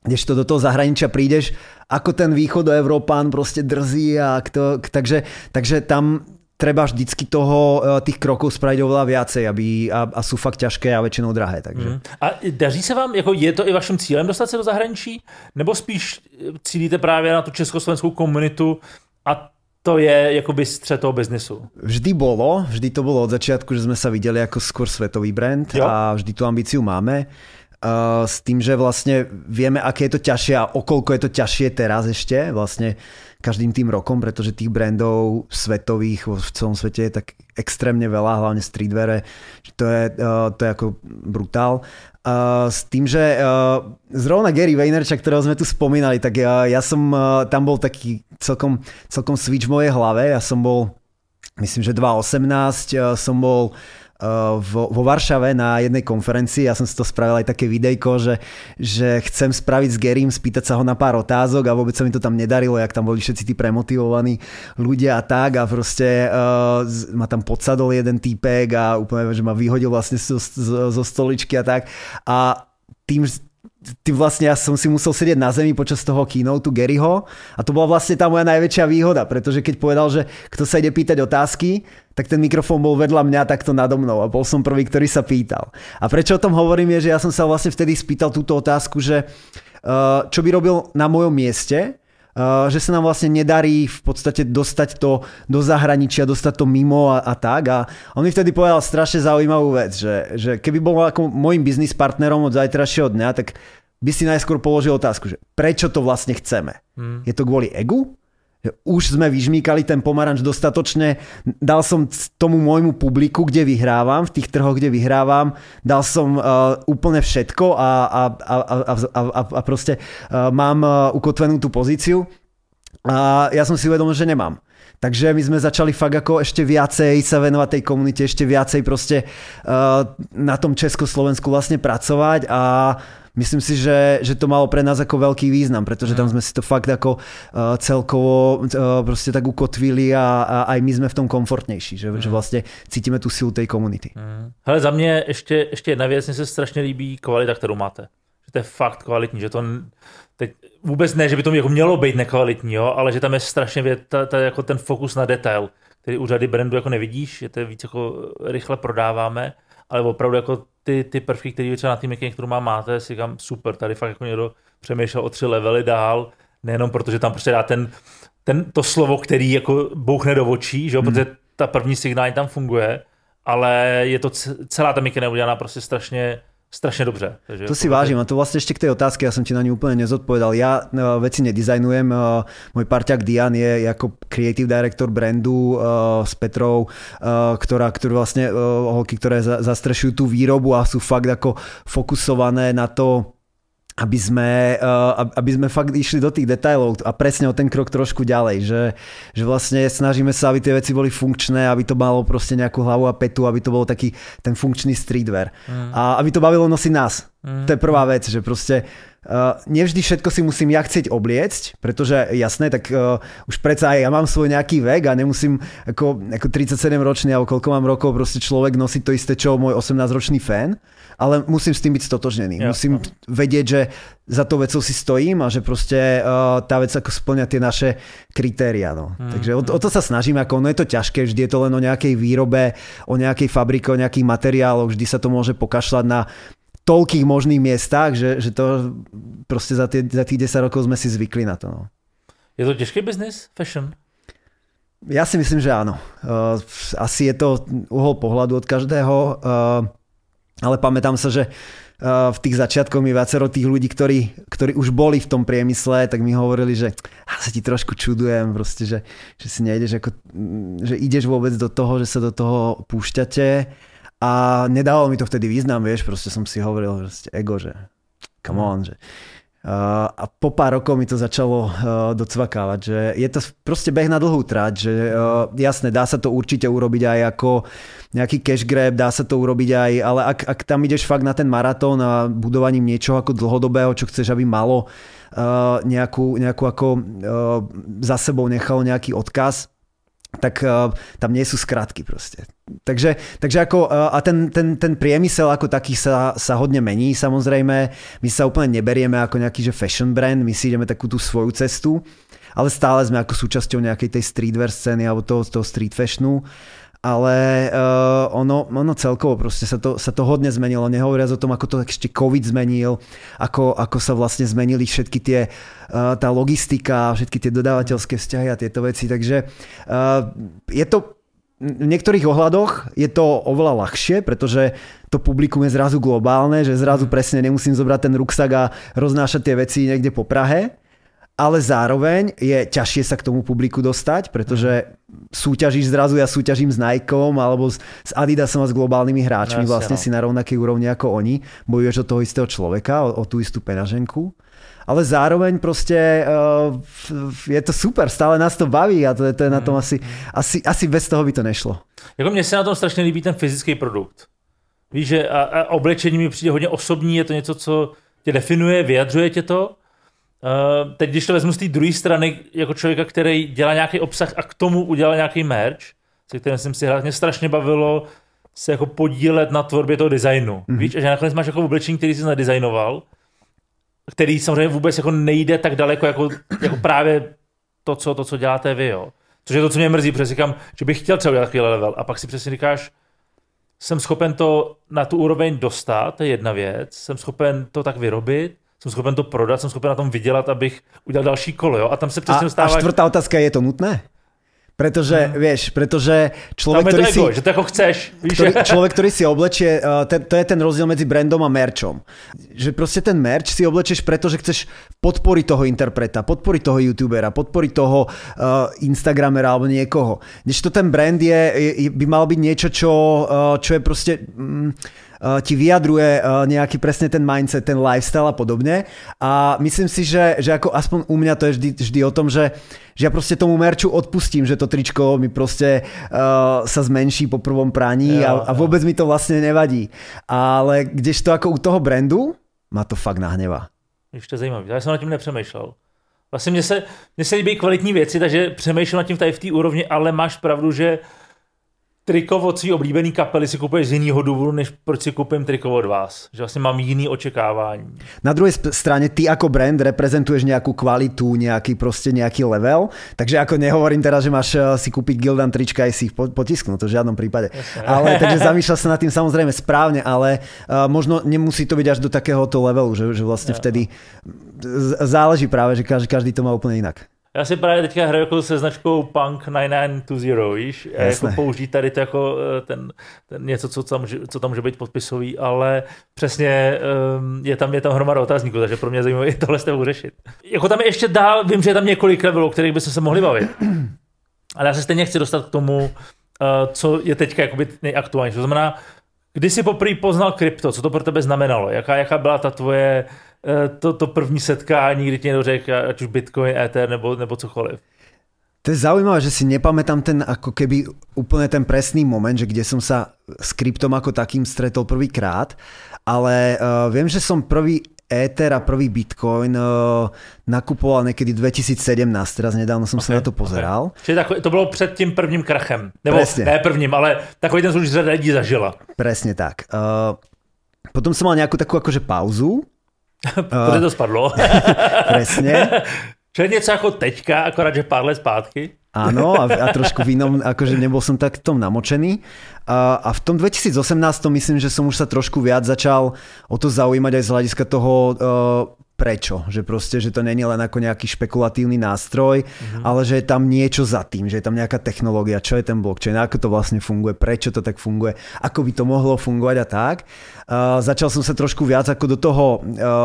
kdežto do toho zahraničia prídeš, ako ten východoevrópán proste drzí takže tam treba vždycky tých krokov spraviť oveľa viacej a sú fakt ťažké a väčšinou drahé. Takže. A daří se vám, jako je to i vaším cílem dostat se do zahraničí? Nebo spíš cílíte právě na tu československou komunitu a to je jakoby střed toho biznesu? Vždy to bolo od začiatku, že sme sa videli ako skôr svetový brand a vždy tú ambíciu máme. S tým, že vlastne vieme, aké je to ťažšie a okolko je to ťažšie teraz ešte vlastne každým tým rokom, pretože tých brandov svetových v celom svete je tak extrémne veľa, hlavne streetweare, to je ako brutál. S tým, že zrovna Gary Vaynerchuk, ktorého sme tu spomínali, tak ja som tam bol taký celkom switch v mojej hlave. Ja som bol, myslím, že 2018 som bol vo Varšave na jednej konferencii. Ja som si to spravil aj také videjko, že chcem spraviť s Garym, spýtať sa ho na pár otázok a vôbec sa mi to tam nedarilo, jak tam boli všetci tí premotivovaní ľudia a tak a proste ma tam podsadol jeden týpek a úplne, že ma vyhodil vlastne zo stoličky a tak a tým vlastne ja som si musel sedieť na zemi počas toho keynote Garyho a to bola vlastne tá moja najväčšia výhoda, pretože keď povedal, že kto sa ide pýtať otázky, tak ten mikrofón bol vedľa mňa takto nado mnou a bol som prvý, ktorý sa pýtal. A prečo o tom hovorím je, že ja som sa vlastne vtedy spýtal túto otázku, že čo by robil na mojom mieste, že sa nám vlastne nedarí v podstate dostať to do zahraničia, dostať to mimo a tak. A on mi vtedy povedal strašne zaujímavú vec, že keby bol ako môjim biznis partnerom od zajtrajšieho dňa, tak by si najskôr položil otázku, že prečo to vlastne chceme? Je to kvôli egu? Už sme vyžmýkali ten pomaranč dostatočne, dal som tomu môjmu publiku, kde vyhrávam, v tých trhoch, kde vyhrávam, dal som úplne všetko a proste mám ukotvenú tú pozíciu a ja som si uvedomil, že nemám. Takže my sme začali fakt ako ešte viacej sa venovať tej komunite, ešte viacej proste na tom Československu vlastne pracovať a myslím si, že to malo pre nás ako veľký význam, pretože tam sme si to fakt ako celkovo proste tak ukotvili a aj my sme v tom komfortnější, že vlastne cítime tú silu tej komunity. Hele, za mě ještě jedna věc, mně se strašně líbí kvalita, kterou máte. Že to je fakt kvalitní, že to teď vůbec ne, že by to jako mělo být nekvalitní, jo, ale že tam je strašně jako ten fokus na detail, který u řady brandů jako nevidíš, že to je víc jako rychle prodáváme, ale opravdu jako ty prvky, které třeba na té making, kterou máte, si říkám super, tady fakt jako někdo přemýšlel o 3 levely dál, nejenom protože tam prostě dá to slovo, který jako bouchne do očí, že jo, protože ta první signál tam funguje, ale je to celá ta making udělaná prostě strašne dobře. Takže to si vážim a to vlastne ešte k tej otázke, ja som ti na ňu úplne nezodpovedal. Ja veci nedizajnujem, môj parťák Dian je ako creative director brandu s Petrou, ktoré vlastne holky, ktoré zastrešujú tú výrobu a sú fakt ako fokusované na to, aby sme fakt išli do tých detailov a presne o ten krok trošku ďalej, že vlastne snažíme sa, aby tie veci boli funkčné, aby to malo proste nejakú hlavu a petu, aby to bol taký ten funkčný streetwear. A aby to bavilo nosiť nás. To je prvá vec, že proste nevždy všetko si musím ja chcieť obliecť, pretože jasné, tak už predsa aj ja mám svoj nejaký vek a nemusím ako 37 ročný alebo koľko mám rokov proste človek nosiť to isté, čo môj 18-ročný fan, ale musím s tým byť stotožnený. Ja. Musím vedieť, že za to vecou si stojím a že proste tá vec ako splňa tie naše kritéria. No. Takže o to sa snažím, ako ono je to ťažké, vždy je to len o nejakej výrobe, o nejakej fabrike, o nejakých materiáloch, vždy sa to môže pokašľať na toľkých možných miestach, že to proste za tých 10 rokov sme si zvykli na to. No. Je to ťažký biznis, fashion? Ja si myslím, že áno. Asi je to uhol pohľadu od každého, ale pamätám sa, že v tých začiatkoch mi viacero tých ľudí, ktorí už boli v tom priemysle, tak mi hovorili, že sa ti trošku čudujem, proste, že si nejdeš, že ideš vôbec do toho, že sa do toho púšťate. A nedávalo mi to vtedy význam, vieš, proste som si hovoril, že ego, že come on, že a po pár rokov mi to začalo docvakávať, že je to proste beh na dlhú trať, že jasné, dá sa to určite urobiť aj ako nejaký cash grab, dá sa to urobiť aj, ale ak tam ideš fakt na ten maratón a budovaním niečoho ako dlhodobého, čo chceš, aby malo nejakú ako za sebou nechalo nejaký odkaz, tak tam nie sú skratky proste. Takže ako, a ten priemysel ako taký sa hodne mení, samozrejme. My sa úplne neberieme ako nejaký že fashion brand, my si ideme takú tú svoju cestu, ale stále sme ako súčasťou nejakej tej streetwear scény alebo toho street fashionu. Ale ono celkovo proste sa to hodne zmenilo. Nehovoriac o tom, ako to ešte COVID zmenil, ako sa vlastne zmenili všetky tie tá logistika, všetky tie dodávateľské vzťahy a tieto veci. Takže je to v niektorých ohľadoch je to oveľa ľahšie, pretože to publikum je zrazu globálne, že zrazu presne nemusím zobrať ten ruksak a roznášať tie veci niekde po Prahe. Ale zároveň je ťažšie sa k tomu publiku dostať, pretože súťažíš zrazu, ja súťažím s Nikeom alebo s Adidasom a s globálnymi hráčmi, vlastne si na rovnakej úrovni ako oni, bojuješ o toho istého človeka, o tú istú peňaženku. Ale zároveň proste je to super, stále nás to baví a to je na tom asi bez toho by to nešlo. Jako mně se na tom strašně líbí ten fyzický produkt. Víš, že a oblečení mi přijde hodně osobní, je to něco, co tě definuje, vyjadřuje tě to. Teď, když to vezmu z té druhé strany, jako člověka, který dělá nějaký obsah a k tomu udělal nějaký merch, se kterým jsem si hrál, mě strašně bavilo se jako podílet na tvorbě toho designu. Víš, a že nakonec máš jako oblečení, který jsi nadizajnoval, který samozřejmě vůbec jako nejde tak daleko, jako právě to, co děláte vy, jo. Což je to, co mě mrzí, protože říkám, že bych chtěl třeba udělat takový level a pak si přesně říkáš, jsem schopen to na tu úroveň dostat, to je jedna věc, jsem schopen to tak vyrobit, jsem schopen to prodat, jsem schopen na tom vydělat, abych udělal další kolo, jo? A tam se přesně dostáváš... A štvrtá otázka, je to nutné? Pretože človek, ktorý ego, že to ako chceš. Človek, ktorý si oblečie, to je ten rozdiel medzi brandom a merchom. Že proste ten merch si oblečieš, pretože chceš podporiť toho interpreta, podporiť toho youtubera, podporiť toho instagramera alebo niekoho. Kdežto ten brand by mal byť niečo, čo je proste... ti vyjadruje nejaký presne ten mindset, ten lifestyle a podobne. A myslím si, že ako aspoň u mňa to je vždy o tom, že ja proste tomu merču odpustím, že to tričko mi proste sa zmenší po prvom praní a vôbec mi to vlastne nevadí. Ale kdežto ako u toho brandu, ma to fakt nahnevá. Ještě zajímavý. Já jsem nad tím nepřemýšlel. Vlastně mně se líbí kvalitní věci, takže přemýšlím nad tím tady v té úrovni, ale máš pravdu, že triko od svý oblíbený kapely si kupuješ z jiného důvodu, než proč si kúpim triko od vás. Že vlastně mám jiný očekávání. Na druhej strane ty ako brand reprezentuješ nejakú kvalitu, nejaký level, takže ako nehovorím teraz, že máš si kúpiť Gildan trička aj si ich potisknúť, to v žiadnom prípade. Ale takže zamýšľaš sa nad tým samozrejme správne, ale možno nemusí to byť až do takéhoto levelu, že vlastne vtedy záleží práve, že každý to má úplne inak. Já si právě teďka hraju jako se značkou Punk 9920, víš? Jako použít tady to jako ten něco, co tam může být podpisový, ale přesně je tam hromada otázníků, takže pro mě zajímavé je tohle s tebou řešit. Jako tam je ještě dál, vím, že je tam několik levelů, o kterých bychom se mohli bavit. Ale já se stejně chci dostat k tomu, co je teďka jakoby nejaktuálnější. To znamená, kdy jsi poprvé poznal krypto, co to pro tebe znamenalo? Jaká byla ta tvoje to první setkání, kdy ti někdo řekl, ať už Bitcoin, Ether nebo cokoliv? To je zaujímavé, že si nepamätám ten ako keby úplne ten presný moment, že kde som sa s kryptom ako takým stretol prvýkrát, ale viem, že som prvý Ether a prvý Bitcoin nakupoval niekedy 2017, teraz nedávno som sa na to pozeral. Čiže to bylo před tím prvním krachem, nebo presne. Ne prvním, ale takový ten už řada lidí zažila. Presne tak. Potom som mal nejakú takú akože pauzu. Protože to spadlo. Presne. Čo je něco jako teďka, akorát, že pár let zpátky. Áno, a trošku v inom, akože nebol som tak tom namočený. A v tom 2018 myslím, že som už sa trošku viac začal o to zaujímať aj z hľadiska toho prečo. Že proste, že to není len ako nejaký špekulatívny nástroj, ale že je tam niečo za tým, že je tam nejaká technológia, čo je ten blockchain, ako to vlastne funguje, prečo to tak funguje, ako by to mohlo fungovať a tak. Začal som sa trošku viac ako do toho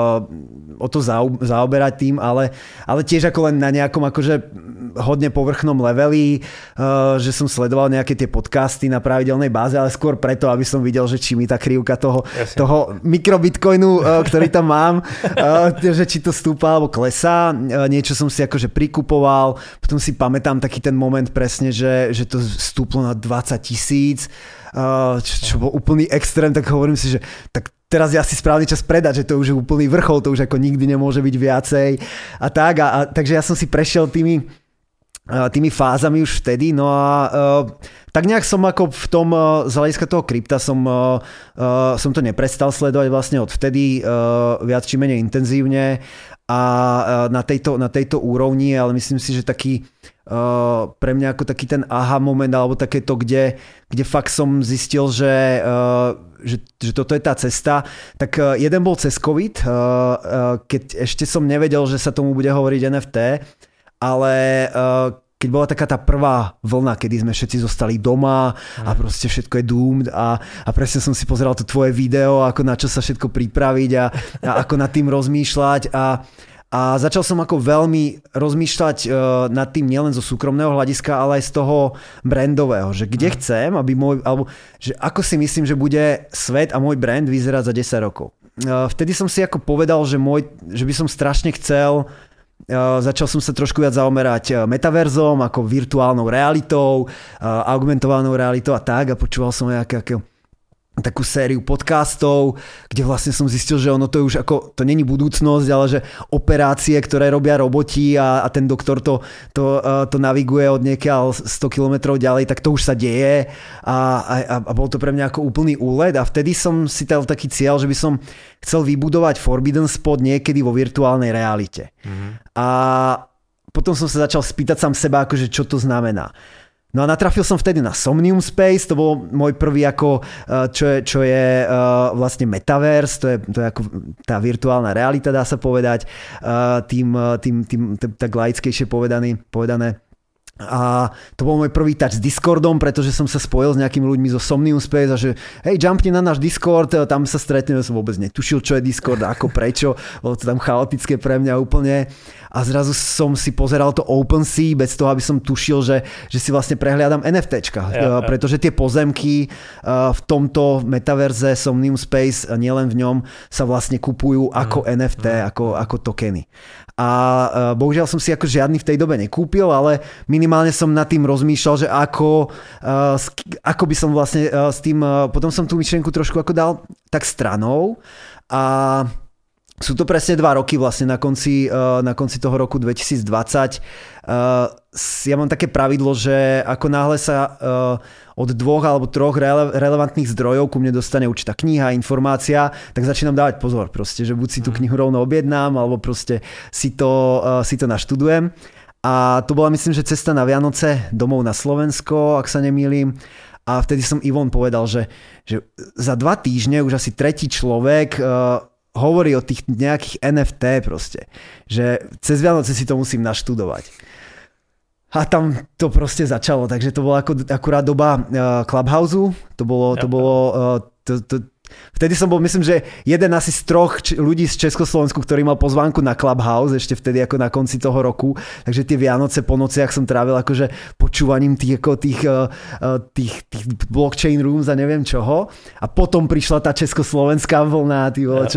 o to zaoberať tým, ale tiež ako len na nejakom akože hodne povrchnom leveli, že som sledoval nejaké tie podcasty na pravidelnej báze, ale skôr preto, aby som videl, že či mi tá krivka toho mikrobitcoinu, ktorý tam mám, že či to stúpa alebo klesá. Niečo som si akože prikupoval, potom si pamätám taký ten moment presne, že to stúplo na 20 000, čo bol úplný extrém, tak hovorím si, že tak teraz je asi správny čas predať, že to už je úplný vrchol, to už ako nikdy nemôže byť viacej a tak. Takže ja som si prešiel tými tými fázami už vtedy, no a tak nejak som ako v tom, z hľadiska toho krypta som to neprestal sledovať vlastne od vtedy viac či menej intenzívne a na tejto úrovni, ale myslím si, že taký pre mňa ako taký ten aha moment alebo takéto, kde fakt som zistil, že toto je tá cesta, tak jeden bol cez COVID, keď ešte som nevedel, že sa tomu bude hovoriť NFT, ale keď bola taká tá prvá vlna, kedy sme všetci zostali doma a proste všetko je doomed a presne som si pozeral to tvoje video, ako na čo sa všetko pripraviť a ako nad tým rozmýšľať a začal som ako veľmi rozmýšľať nad tým nielen zo súkromného hľadiska, ale aj z toho brandového, že kde chcem, aby že ako si myslím, že bude svet a môj brand vyzerať za 10 rokov. Vtedy som si ako povedal, že by som strašne chcel. Začal som sa trošku viac zaomerať metaverzom, ako virtuálnou realitou, augmentovanou realitou a tak a počúval som takú sériu podcastov, kde vlastne som zistil, že ono to je už ako, to není budúcnosť, ale že operácie, ktoré robia roboti a ten doktor to naviguje od niekiaľ 100 kilometrov ďalej, tak to už sa deje a bol to pre mňa ako úplný úlet a vtedy som si dal taký cieľ, že by som chcel vybudovať Forbidden Spot niekedy vo virtuálnej realite. A potom som sa začal spýtať sám seba, akože čo to znamená. No a natrafil som vtedy na Somnium Space, to bol môj prvý ako, čo je vlastne metaverse, to je ako tá virtuálna realita, dá sa povedať, tým tak laickejšie povedané. A to bol môj prvý touch s Discordom, pretože som sa spojil s nejakými ľuďmi zo Somnium Space a že hej, jumpni na náš Discord, tam sa stretneme, som vôbec netušil, čo je Discord, ako, prečo, bolo to tam chaotické pre mňa úplne a zrazu som si pozeral to OpenSea bez toho, aby som tušil, že si vlastne prehliadam NFTčka, pretože tie pozemky v tomto metaverze Somnium Space, nielen v ňom, sa vlastne kupujú ako NFT, ako tokeny. A bohužiaľ som si ako žiadny v tej dobe nekúpil, ale minimálne som nad tým rozmýšľal, že ako by som vlastne s tým, potom som tú myšlienku trošku ako dal tak stranou a sú to presne 2 roky vlastne na konci toho roku 2020. Ja mám také pravidlo, že ako náhle sa od 2 alebo 3 relevantných zdrojov ku mne dostane určitá kniha, informácia, tak začínam dávať pozor proste, že buď si tú knihu rovno objednám, alebo proste si to naštudujem. A to bola, myslím, že cesta na Vianoce domov na Slovensko, ak sa nemýlim. A vtedy som Ivon povedal, že za 2 týždne už asi 3. človek hovorí o tých nejakých NFT proste. Že cez Vianoce si to musím naštudovať. A tam to proste začalo, takže to bola akurát doba Clubhouse. Vtedy som bol, myslím, že jeden asi z 3 ľudí z Československu, ktorý mal pozvánku na Clubhouse, ešte vtedy ako na konci toho roku. Takže tie Vianoce po nociach som trávil akože počúvaním tých blockchain rooms a neviem čoho. A potom prišla tá československá vlna,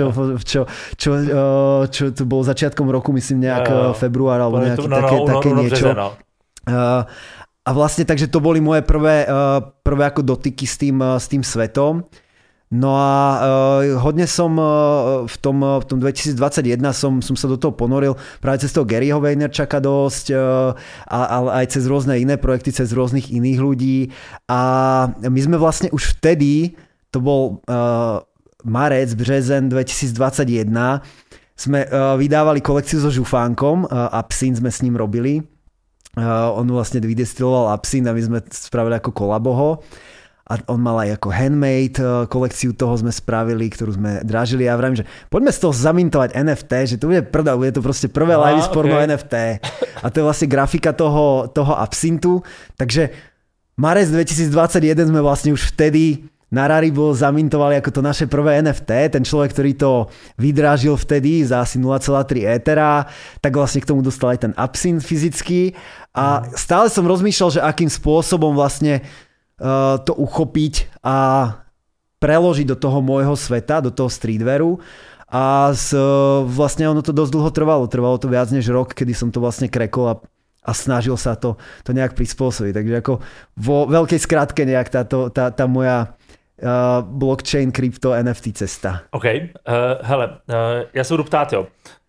čo to bolo začiatkom roku, myslím nejak február alebo nejaké také niečo. A vlastne takže to boli moje prvé ako dotyky s tým svetom. No a hodne som v tom 2021 som sa do toho ponoril práve cez toho Garyho Vaynerchuka dosť, ale aj cez rôzne iné projekty, cez rôznych iných ľudí. A my sme vlastne už vtedy, to bol marec, březen 2021, sme vydávali kolekciu so žufánkom, Absint sme s ním robili. On vlastne vydestiloval Absint a my sme spravili ako kolaboho. A on mal aj ako handmade kolekciu, toho sme spravili, ktorú sme drážili a vravím, že poďme z toho zamintovať NFT, že to bude prdel, bude to proste prvé live sporno NFT. A to je vlastne grafika toho Absintu. Takže marec 2021 sme vlastne už vtedy na Rarible zamintovali ako to naše prvé NFT. Ten človek, ktorý to vydrážil vtedy za asi 0,3 Ethera, tak vlastne k tomu dostal aj ten Absint fyzicky. A stále som rozmýšľal, že akým spôsobom vlastne to uchopiť a preložiť do toho môjho sveta, do toho streetwearu a vlastne ono to dosť dlho trvalo to viac než rok, kedy som to vlastne krekol a snažil sa to nejak prispôsobiť, takže ako vo veľkej skratke nejak tá moja blockchain, krypto, NFT cesta. OK, hele, já se budu ptát, jo.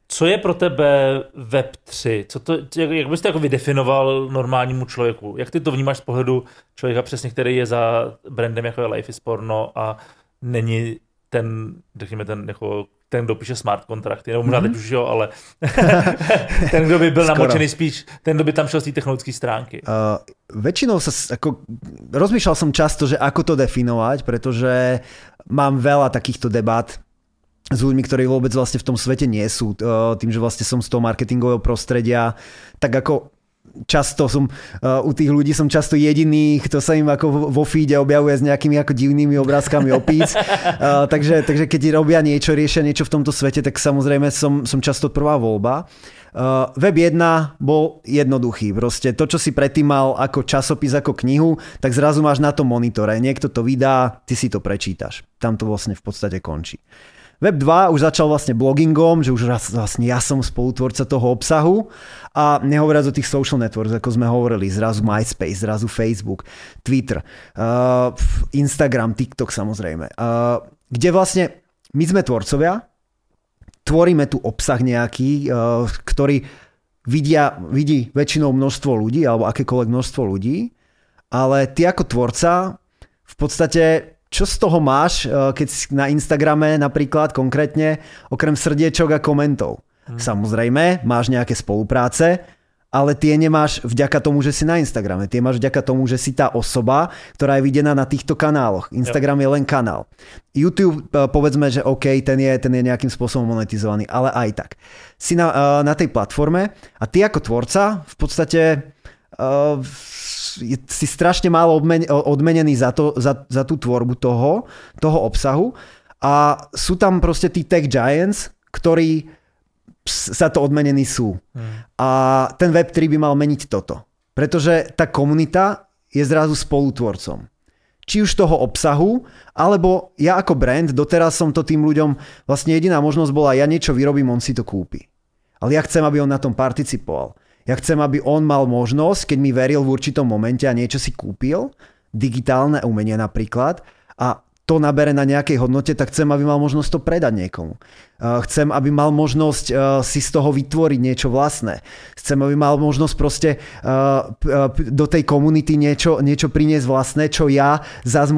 Co je pro tebe Web3? Jak bys to jako vydefinoval normálnímu člověku? Jak ty to vnímáš z pohledu člověka přesně, který je za brandem jako je Life is Porno a není ten, řekněme, ten, kdo píše smart kontrakty, nebo možná teď už jo, ale ten, kdo by byl namočený spíš, ten, kdo by tam šel z té technologické stránky. Väčšinou rozmýšľal som často, že ako to definovať, pretože mám veľa takýchto debát s ľuďmi, ktorí vôbec vlastne v tom svete nie sú. Tým, že vlastne som z toho marketingového prostredia, tak ako často som u tých ľudí som často jediný, kto sa im ako vo feede objavuje s nejakými ako divnými obrázkami opíc. Takže keď robia niečo, riešia niečo v tomto svete, tak samozrejme som často prvá voľba. Web 1 bol jednoduchý. Proste to, čo si predtým mal ako časopis, ako knihu, tak zrazu máš na tom monitore. Niekto to vydá, ty si to prečítaš. Tam to vlastne v podstate končí. Web 2 už začal vlastne bloggingom, že už vlastne ja som spolutvorca toho obsahu a nehovoriac o tých social networks, ako sme hovorili, zrazu MySpace, zrazu Facebook, Twitter, Instagram, TikTok samozrejme. Kde vlastne my sme tvorcovia, tvoríme tu obsah nejaký, ktorý vidí väčšinou množstvo ľudí alebo akékoľvek množstvo ľudí, ale ty ako tvorca v podstate čo z toho máš, keď si na Instagrame napríklad konkrétne, okrem srdiečok a komentov? Samozrejme, máš nejaké spolupráce, ale tie nemáš vďaka tomu, že si na Instagrame. Tie máš vďaka tomu, že si tá osoba, ktorá je videná na týchto kanáloch. Instagram je len kanál. YouTube, povedzme, že OK, ten je nejakým spôsobom monetizovaný, ale aj tak. Si na tej platforme a ty ako tvorca v podstate si strašne málo odmenený za tú tvorbu toho obsahu a sú tam proste tí tech giants, ktorí za to odmenení sú. A ten Web3 by mal meniť toto. Pretože tá komunita je zrazu spolutvorcom. Či už toho obsahu, alebo ja ako brand, doteraz som to tým ľuďom, vlastne jediná možnosť bola, ja niečo vyrobím, on si to kúpi. Ale ja chcem, aby on na tom participoval. Ja chcem, aby on mal možnosť, keď mi veril v určitom momente a niečo si kúpil, digitálne umenie napríklad, a to nabere na nejakej hodnote, tak chcem, aby mal možnosť to predať niekomu. Chcem, aby mal možnosť si z toho vytvoriť niečo vlastné. Chcem, aby mal možnosť proste do tej komunity niečo priniesť vlastné, čo ja zase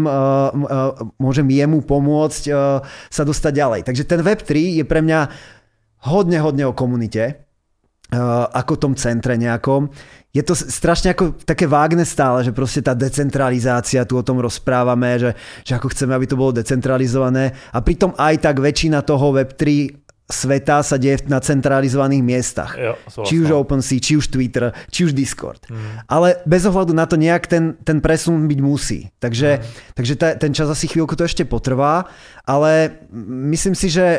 môžem jemu pomôcť sa dostať ďalej. Takže ten Web3 je pre mňa hodne o komunite, ako tom centre nejakom. Je to strašne ako také vágne stále, že proste tá decentralizácia, tu o tom rozprávame, že ako chceme, aby to bolo decentralizované a pritom aj tak väčšina toho Web3 sveta sa deje na centralizovaných miestach. Jo, či už OpenSea, či už Twitter, či už Discord. Ale bez ohľadu na to nejak ten presun byť musí. Takže ten čas asi chvíľku to ešte potrvá, ale myslím si, že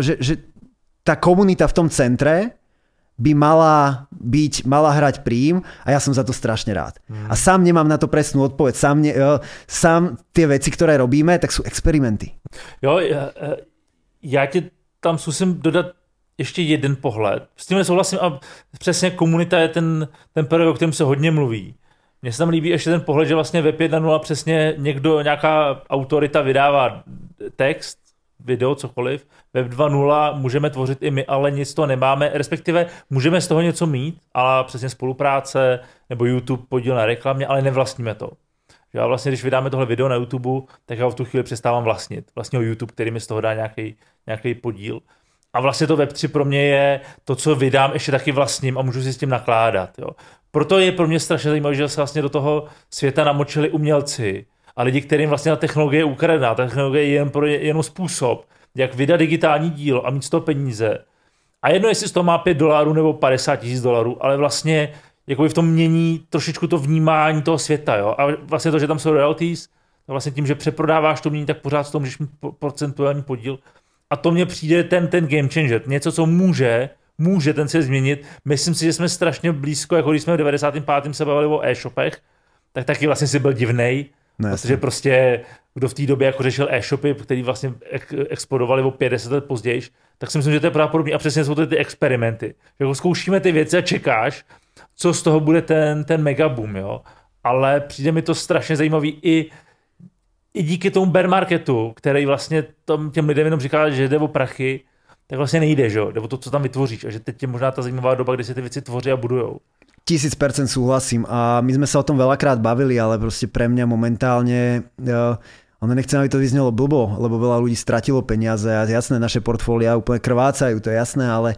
tá komunita v tom centre by mala hrať príjm a ja som za to strašne rád. A sám nemám na to presnú odpoveď. Sám tie veci, ktoré robíme, tak sú experimenty. Jo, já ti tam zkusím dodat ještě jeden pohled. S tím souhlasím a přesně komunita je ten period, o kterém se hodně mluví. Mně se tam líbí ještě ten pohled, že vlastně Web 1.0 přesně nějaká autorita vydává text, video, cokoliv. Web 2.0 můžeme tvořit i my, ale nic z toho nemáme, respektive můžeme z toho něco mít, ale přesně spolupráce nebo YouTube podíl na reklamě, ale nevlastníme to. Já vlastně, když vydáme tohle video na YouTube, tak já v tu chvíli přestávám vlastnit. Vlastně YouTube, který mi z toho dá nějaký podíl. A vlastně to Web3 pro mě je to, co vydám, ještě taky vlastním a můžu si s tím nakládat. Jo. Proto je pro mě strašně zajímavé, že se vlastně do toho světa namočili umělci a lidi, kterým vlastně ta technologie je ukradená. Ta technologie je jenom způsob, jak vydat digitální dílo a mít z toho peníze. A jedno, jestli z toho má $5 nebo $50,000, ale vlastně jakoby v tom mění trošičku to vnímání toho světa. Jo? A vlastně to, že tam jsou royalties, to vlastně tím, že přeprodáváš to mění, tak pořád z toho můžeš mít procentuální podíl. A to mně přijde ten game changer. Něco, co může ten svět změnit. Myslím si, že jsme strašně blízko, jako když jsme v 95. se bavili o e-shopech, tak taky vlastně si byl divnej, protože prostě kdo v té době jako řešil e-shopy, který vlastně explodovali o 50 let později, tak si myslím, že to je právě podobný. A přesně jsou to ty experimenty. Že jako zkoušíme ty věci a čekáš, co z toho bude ten megaboom, jo. Ale přijde mi to strašně zajímavý i díky tomu bear marketu, který vlastně těm lidem jenom říká, že jde o prachy, tak vlastně nejde, že jo? Nebo to, co tam vytvoříš. A že teď je možná ta zajímavá doba, kdy si ty věci tvoří a budujou. 1000% súhlasím a my sme sa o tom veľakrát bavili, ale proste pre mňa momentálne ono nechcem, aby to vyznelo blbo, lebo veľa ľudí stratilo peniaze a jasné, naše portfólia úplne krvácajú, to je jasné, ale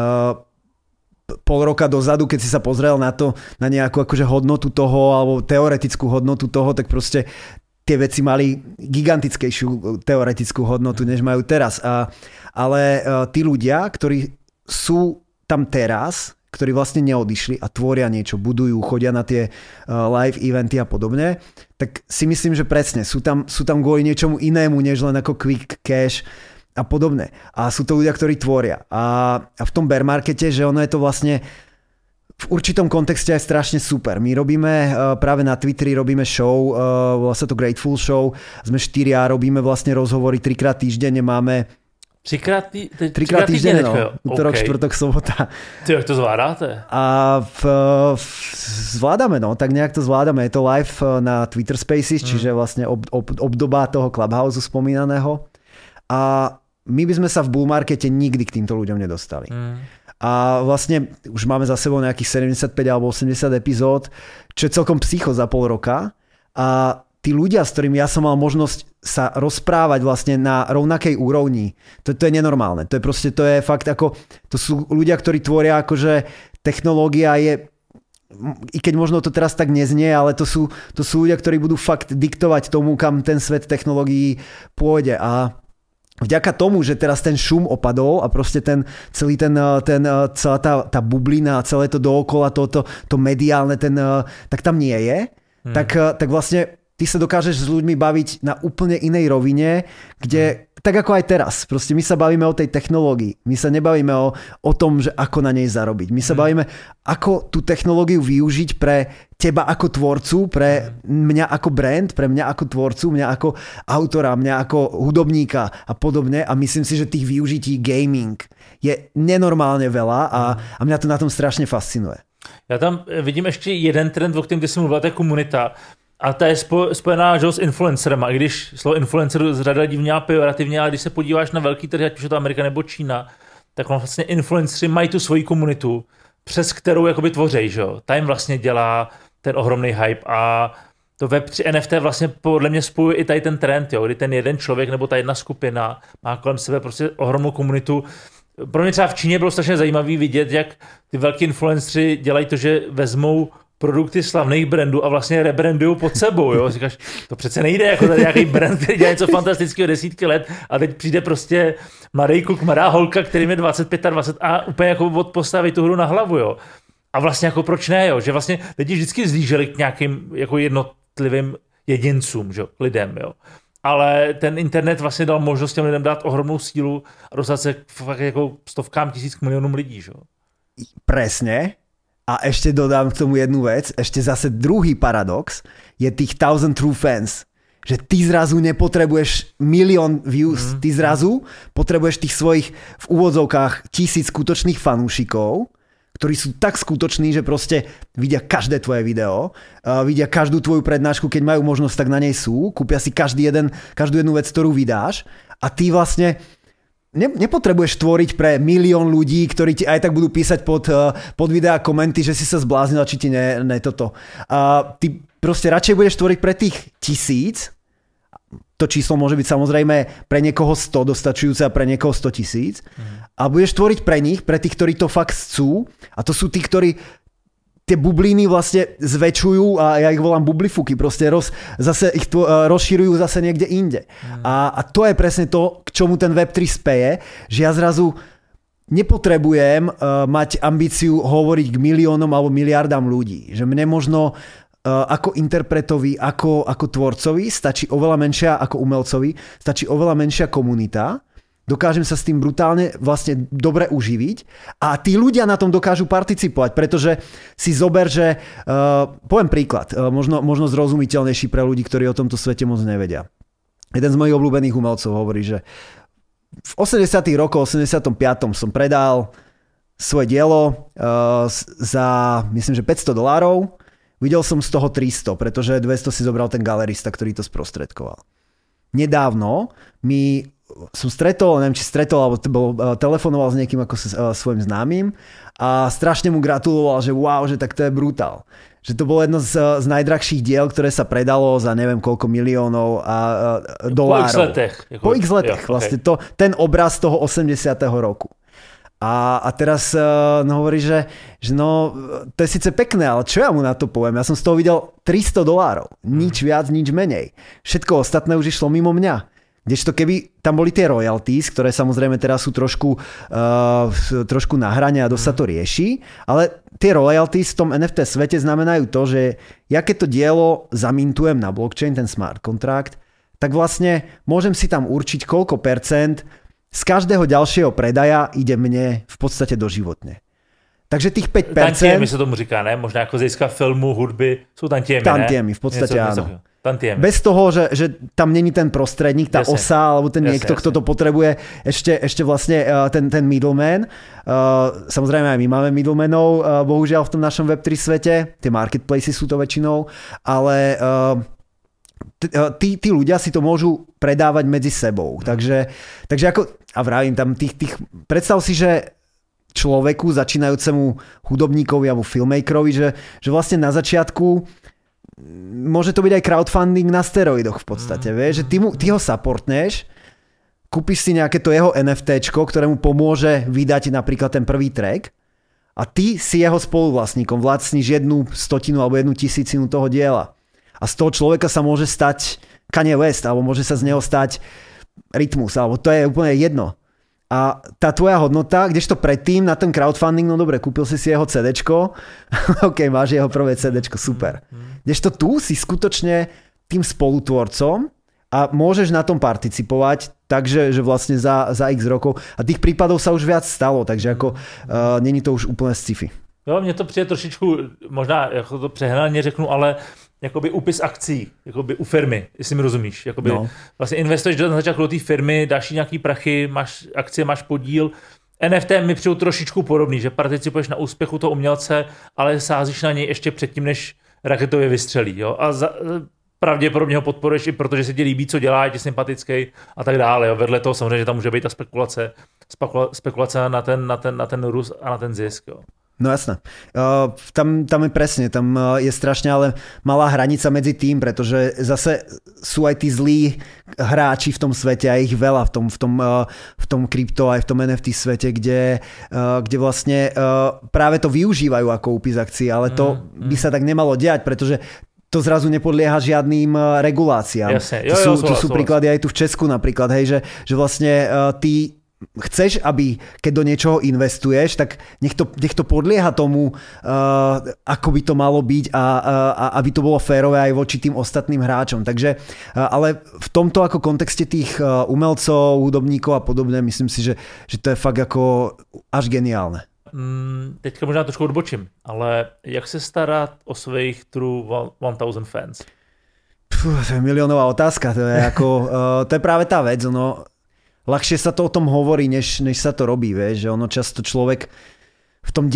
pol roka dozadu, keď si sa pozrel na to, na nejakú akože hodnotu toho alebo teoretickú hodnotu toho, tak proste tie veci mali gigantickejšiu teoretickú hodnotu, než majú teraz. Ale tí ľudia, ktorí sú tam teraz, ktorí vlastne neodišli a tvoria niečo, budujú, chodia na tie live eventy a podobne, tak si myslím, že presne sú tam kvôli niečomu inému, než len ako quick cash a podobne. A sú to ľudia, ktorí tvoria. A v tom bear markete, že ono je to vlastne v určitom kontexte aj strašne super. My robíme práve na Twitteri, robíme show, volá sa to Grateful Show, sme 4 robíme vlastne rozhovory 3-krát týždenne, máme Třikrát týždenne, no. Útorok, štvrtok, sobota. Ty, jak to zvládáte? A zvládame, no, tak nejak to zvládame. Je to live na Twitter Spaces, čiže vlastne obdoba toho Clubhouse spomínaného. A my by sme sa v bull markete nikdy k týmto ľuďom nedostali. A vlastne už máme za sebou nejakých 75 alebo 80 epizód, čo je celkom psycho za pol roka. A tí ľudia, s ktorými ja som mal možnosť sa rozprávať vlastne na rovnakej úrovni, to je nenormálne. To je fakt ako, to sú ľudia, ktorí tvoria akože technológia je, i keď možno to teraz tak neznie, ale to sú ľudia, ktorí budú fakt diktovať tomu, kam ten svet technológií pôjde. A vďaka tomu, že teraz ten šum opadol a proste celá tá bublina a celé to dookola, to mediálne, tak tam nie je, tak vlastne ty sa dokážeš s ľuďmi baviť na úplne inej rovine, kde, tak ako aj teraz, proste my sa bavíme o tej technológii, my sa nebavíme o tom, že ako na nej zarobiť. My sa bavíme, ako tú technológiu využiť pre teba ako tvorcu, pre mňa ako brand, pre mňa ako tvorcu, mňa ako autora, mňa ako hudobníka a podobne. A myslím si, že tých využití gaming je nenormálne veľa a mňa to na tom strašne fascinuje. Já tam vidím ještě jeden trend, o kterém ty jsi mluvila, to je komunita. A ta je spojená s influencerem. I když slovo influencer řada lidí vnímá pejorativně, ale když se podíváš na velký trh, ať už je to Amerika nebo Čína, tak vlastně influenceri mají tu svoji komunitu, přes kterou jakoby tvoří, že jo. Ta jim vlastně dělá ten ohromný hype a to Web3 NFT vlastně podle mě spojuje i tady ten trend, jo, kdy ten jeden člověk nebo ta jedna skupina má kolem sebe prostě ohromnou komunitu. Pro mě třeba v Číně bylo strašně zajímavý vidět, jak ty velký influenceri dělají to, že vezmou produkty slavných brandů a vlastně rebrandují pod sebou, jo. Říkáš, to přece nejde, jako tady nějaký brand, který dělá něco fantastického desítky let a teď přijde prostě mladý kluk, mladá holka, kterým je 25 a 20 a úplně jako postaví tu hru na hlavu, jo. A vlastně jako proč ne, jo, že vlastně lidi vždycky zlíželi k nějakým jako jednotlivým jedincům, že? Lidem, jo. Ale ten internet vlastně dal možnost těm lidem dát ohromnou sílu a dostat se fakt jako stovkám tisíc k milionům lidí, že? Presne. A ešte dodám k tomu jednu vec. Ešte zase druhý paradox je tých 1000 true fans. Že ty zrazu nepotrebuješ milión views. Ty zrazu potrebuješ tých svojich v úvodzovkách 1000 skutočných fanúšikov, ktorí sú tak skutoční, že proste vidia každé tvoje video, vidia každú tvoju prednášku, keď majú možnosť, tak na nej sú, kúpia si každú jednu vec, ktorú vydáš a ty vlastne nepotrebuješ tvoriť pre milión ľudí, ktorí ti aj tak budú písať pod videá komenty, že si sa zbláznil, či ti ne toto. Ty proste radšej budeš tvoriť pre tých 1000, to číslo môže byť samozrejme pre niekoho 100 dostačujúce a pre niekoho 100 000 a budeš tvoriť pre nich, pre tých, ktorí to fakt chcú a to sú tí, ktorí tie bubliny vlastne zväčšujú a ja ich volám bublifuky, proste zase ich rozširujú zase niekde inde. A to je presne to, k čomu ten Web3 speje, že ja zrazu nepotrebujem mať ambíciu hovoriť k miliónom alebo miliardám ľudí. Že mne možno ako interpretovi, ako tvorcovi stačí oveľa menšia, ako umelcovi, stačí oveľa menšia komunita, dokážem sa s tým brutálne vlastne dobre uživiť a tí ľudia na tom dokážu participovať, pretože si zober, že poviem príklad, možno zrozumiteľnejší pre ľudí, ktorí o tomto svete moc nevedia. Jeden z mojich obľúbených umelcov hovorí, že v 80. rokoch, 85. som predal svoje dielo za, myslím, že $500. Videl som z toho 300, pretože 200 si zobral ten galerista, ktorý to sprostredkoval. Nedávno mi som stretol, neviem, či stretol, alebo telefonoval s niekým ako svojim známym a strašne mu gratuloval, že wow, že tak to je brutál. Že to bolo jedno z najdrahších diel, ktoré sa predalo za neviem koľko miliónov a dolárov. Po x letech. Vlastne ten obraz toho 80. roku. A teraz hovorí, že no, to je síce pekné, ale čo ja mu na to poviem? Ja som z toho videl $300. Nič viac, nič menej. Všetko ostatné už išlo mimo mňa. Kdežto keby tam boli tie royalties, ktoré samozrejme teraz sú trošku na hrane a dosť sa to rieši, ale tie royalties v tom NFT svete znamenajú to, že ja keď to dielo zamintujem na blockchain, ten smart kontrakt, tak vlastne môžem si tam určiť koľko percent z každého ďalšieho predaja ide mne v podstate doživotne. Takže tých 5%... Tantiemy sa tomu říká, ne? Možná ako z hľadiska filmu, hudby, sú tantiemy, ne? Tantiemy, v podstate áno. Tantiemy. Bez toho, že tam není ten prostredník, tá osa, alebo ten niekto, kto to potrebuje, ešte vlastne ten middleman. Samozrejme aj my máme middlemanov, bohužiaľ v tom našom Web3 svete, tie marketplaces sú to väčšinou, ale tí ľudia si to môžu predávať medzi sebou. Takže ako, a vravím tam predstav si, že človeku, začínajúcemu hudobníkovi alebo filmmakerovi, že vlastne na začiatku môže to byť aj crowdfunding na steroidoch v podstate, vieš, že ty ho supportneš, kúpiš si nejaké to jeho NFTčko, ktoré mu pomôže vydať napríklad ten prvý track a ty si jeho spoluvlastníkom, vlastníš 1/100 alebo 1/1000 toho diela. A z toho človeka sa môže stať Kanye West, alebo môže sa z neho stať Rytmus, alebo to je úplne jedno. A tá tvoja hodnota, kdežto predtým na ten crowdfunding, no dobre, kúpil si jeho CDčko, ok, máš jeho prvé CDčko, super. Kdežto tu si skutočne tým spolutvorcom a môžeš na tom participovať, takže že vlastne za x rokov. A tých prípadov sa už viac stalo, takže ako není to už úplne sci-fi. Jo, mně to přijde trošičku, možná jako to přehnaně řeknu, ale jakoby úpis akcí, jakoby u firmy, jestli mi rozumíš. Jakoby vlastně investuješ na začátku do té firmy, dáš jí nějaký prachy, máš akcie, máš podíl. NFT mi přijde trošičku podobný, že participuješ na úspěchu toho umělce, ale sázíš na něj ještě předtím, než raketově vystřelí. Jo? A pravděpodobně ho podporuješ i protože se ti líbí, co dělá, je ti sympatický a tak dále. Jo? Vedle toho samozřejmě, že tam může být ta spekulace na ten růst a na ten zisk. Jo? No jasné. Tam je presne, tam je strašne ale malá hranica medzi tým, pretože zase sú aj tí zlí hráči v tom svete a ich veľa v tom krypto aj v tom NFT svete, kde vlastne práve to využívajú ako úpis akcií, ale to by sa tak nemalo diať, pretože to zrazu nepodlieha žiadnym reguláciám. To sú príklady aj tu v Česku napríklad, hej, že vlastne ty chceš, aby keď do niečoho investuješ, tak nech to podlieha tomu, ako by to malo byť a aby to bolo férové aj voči tým ostatným hráčom. Takže, ale v tomto ako kontexte tých umelcov, hudobníkov a podobne, myslím si, že to je fakt ako až geniálne. Teďka možná trošku odbočím, ale jak se starat o svých true 1000 fans? To je miliónová otázka, to je práve tá vec, no. Ľahšie sa to o tom hovorí, než sa to robí, vieš, že ono často človek v tom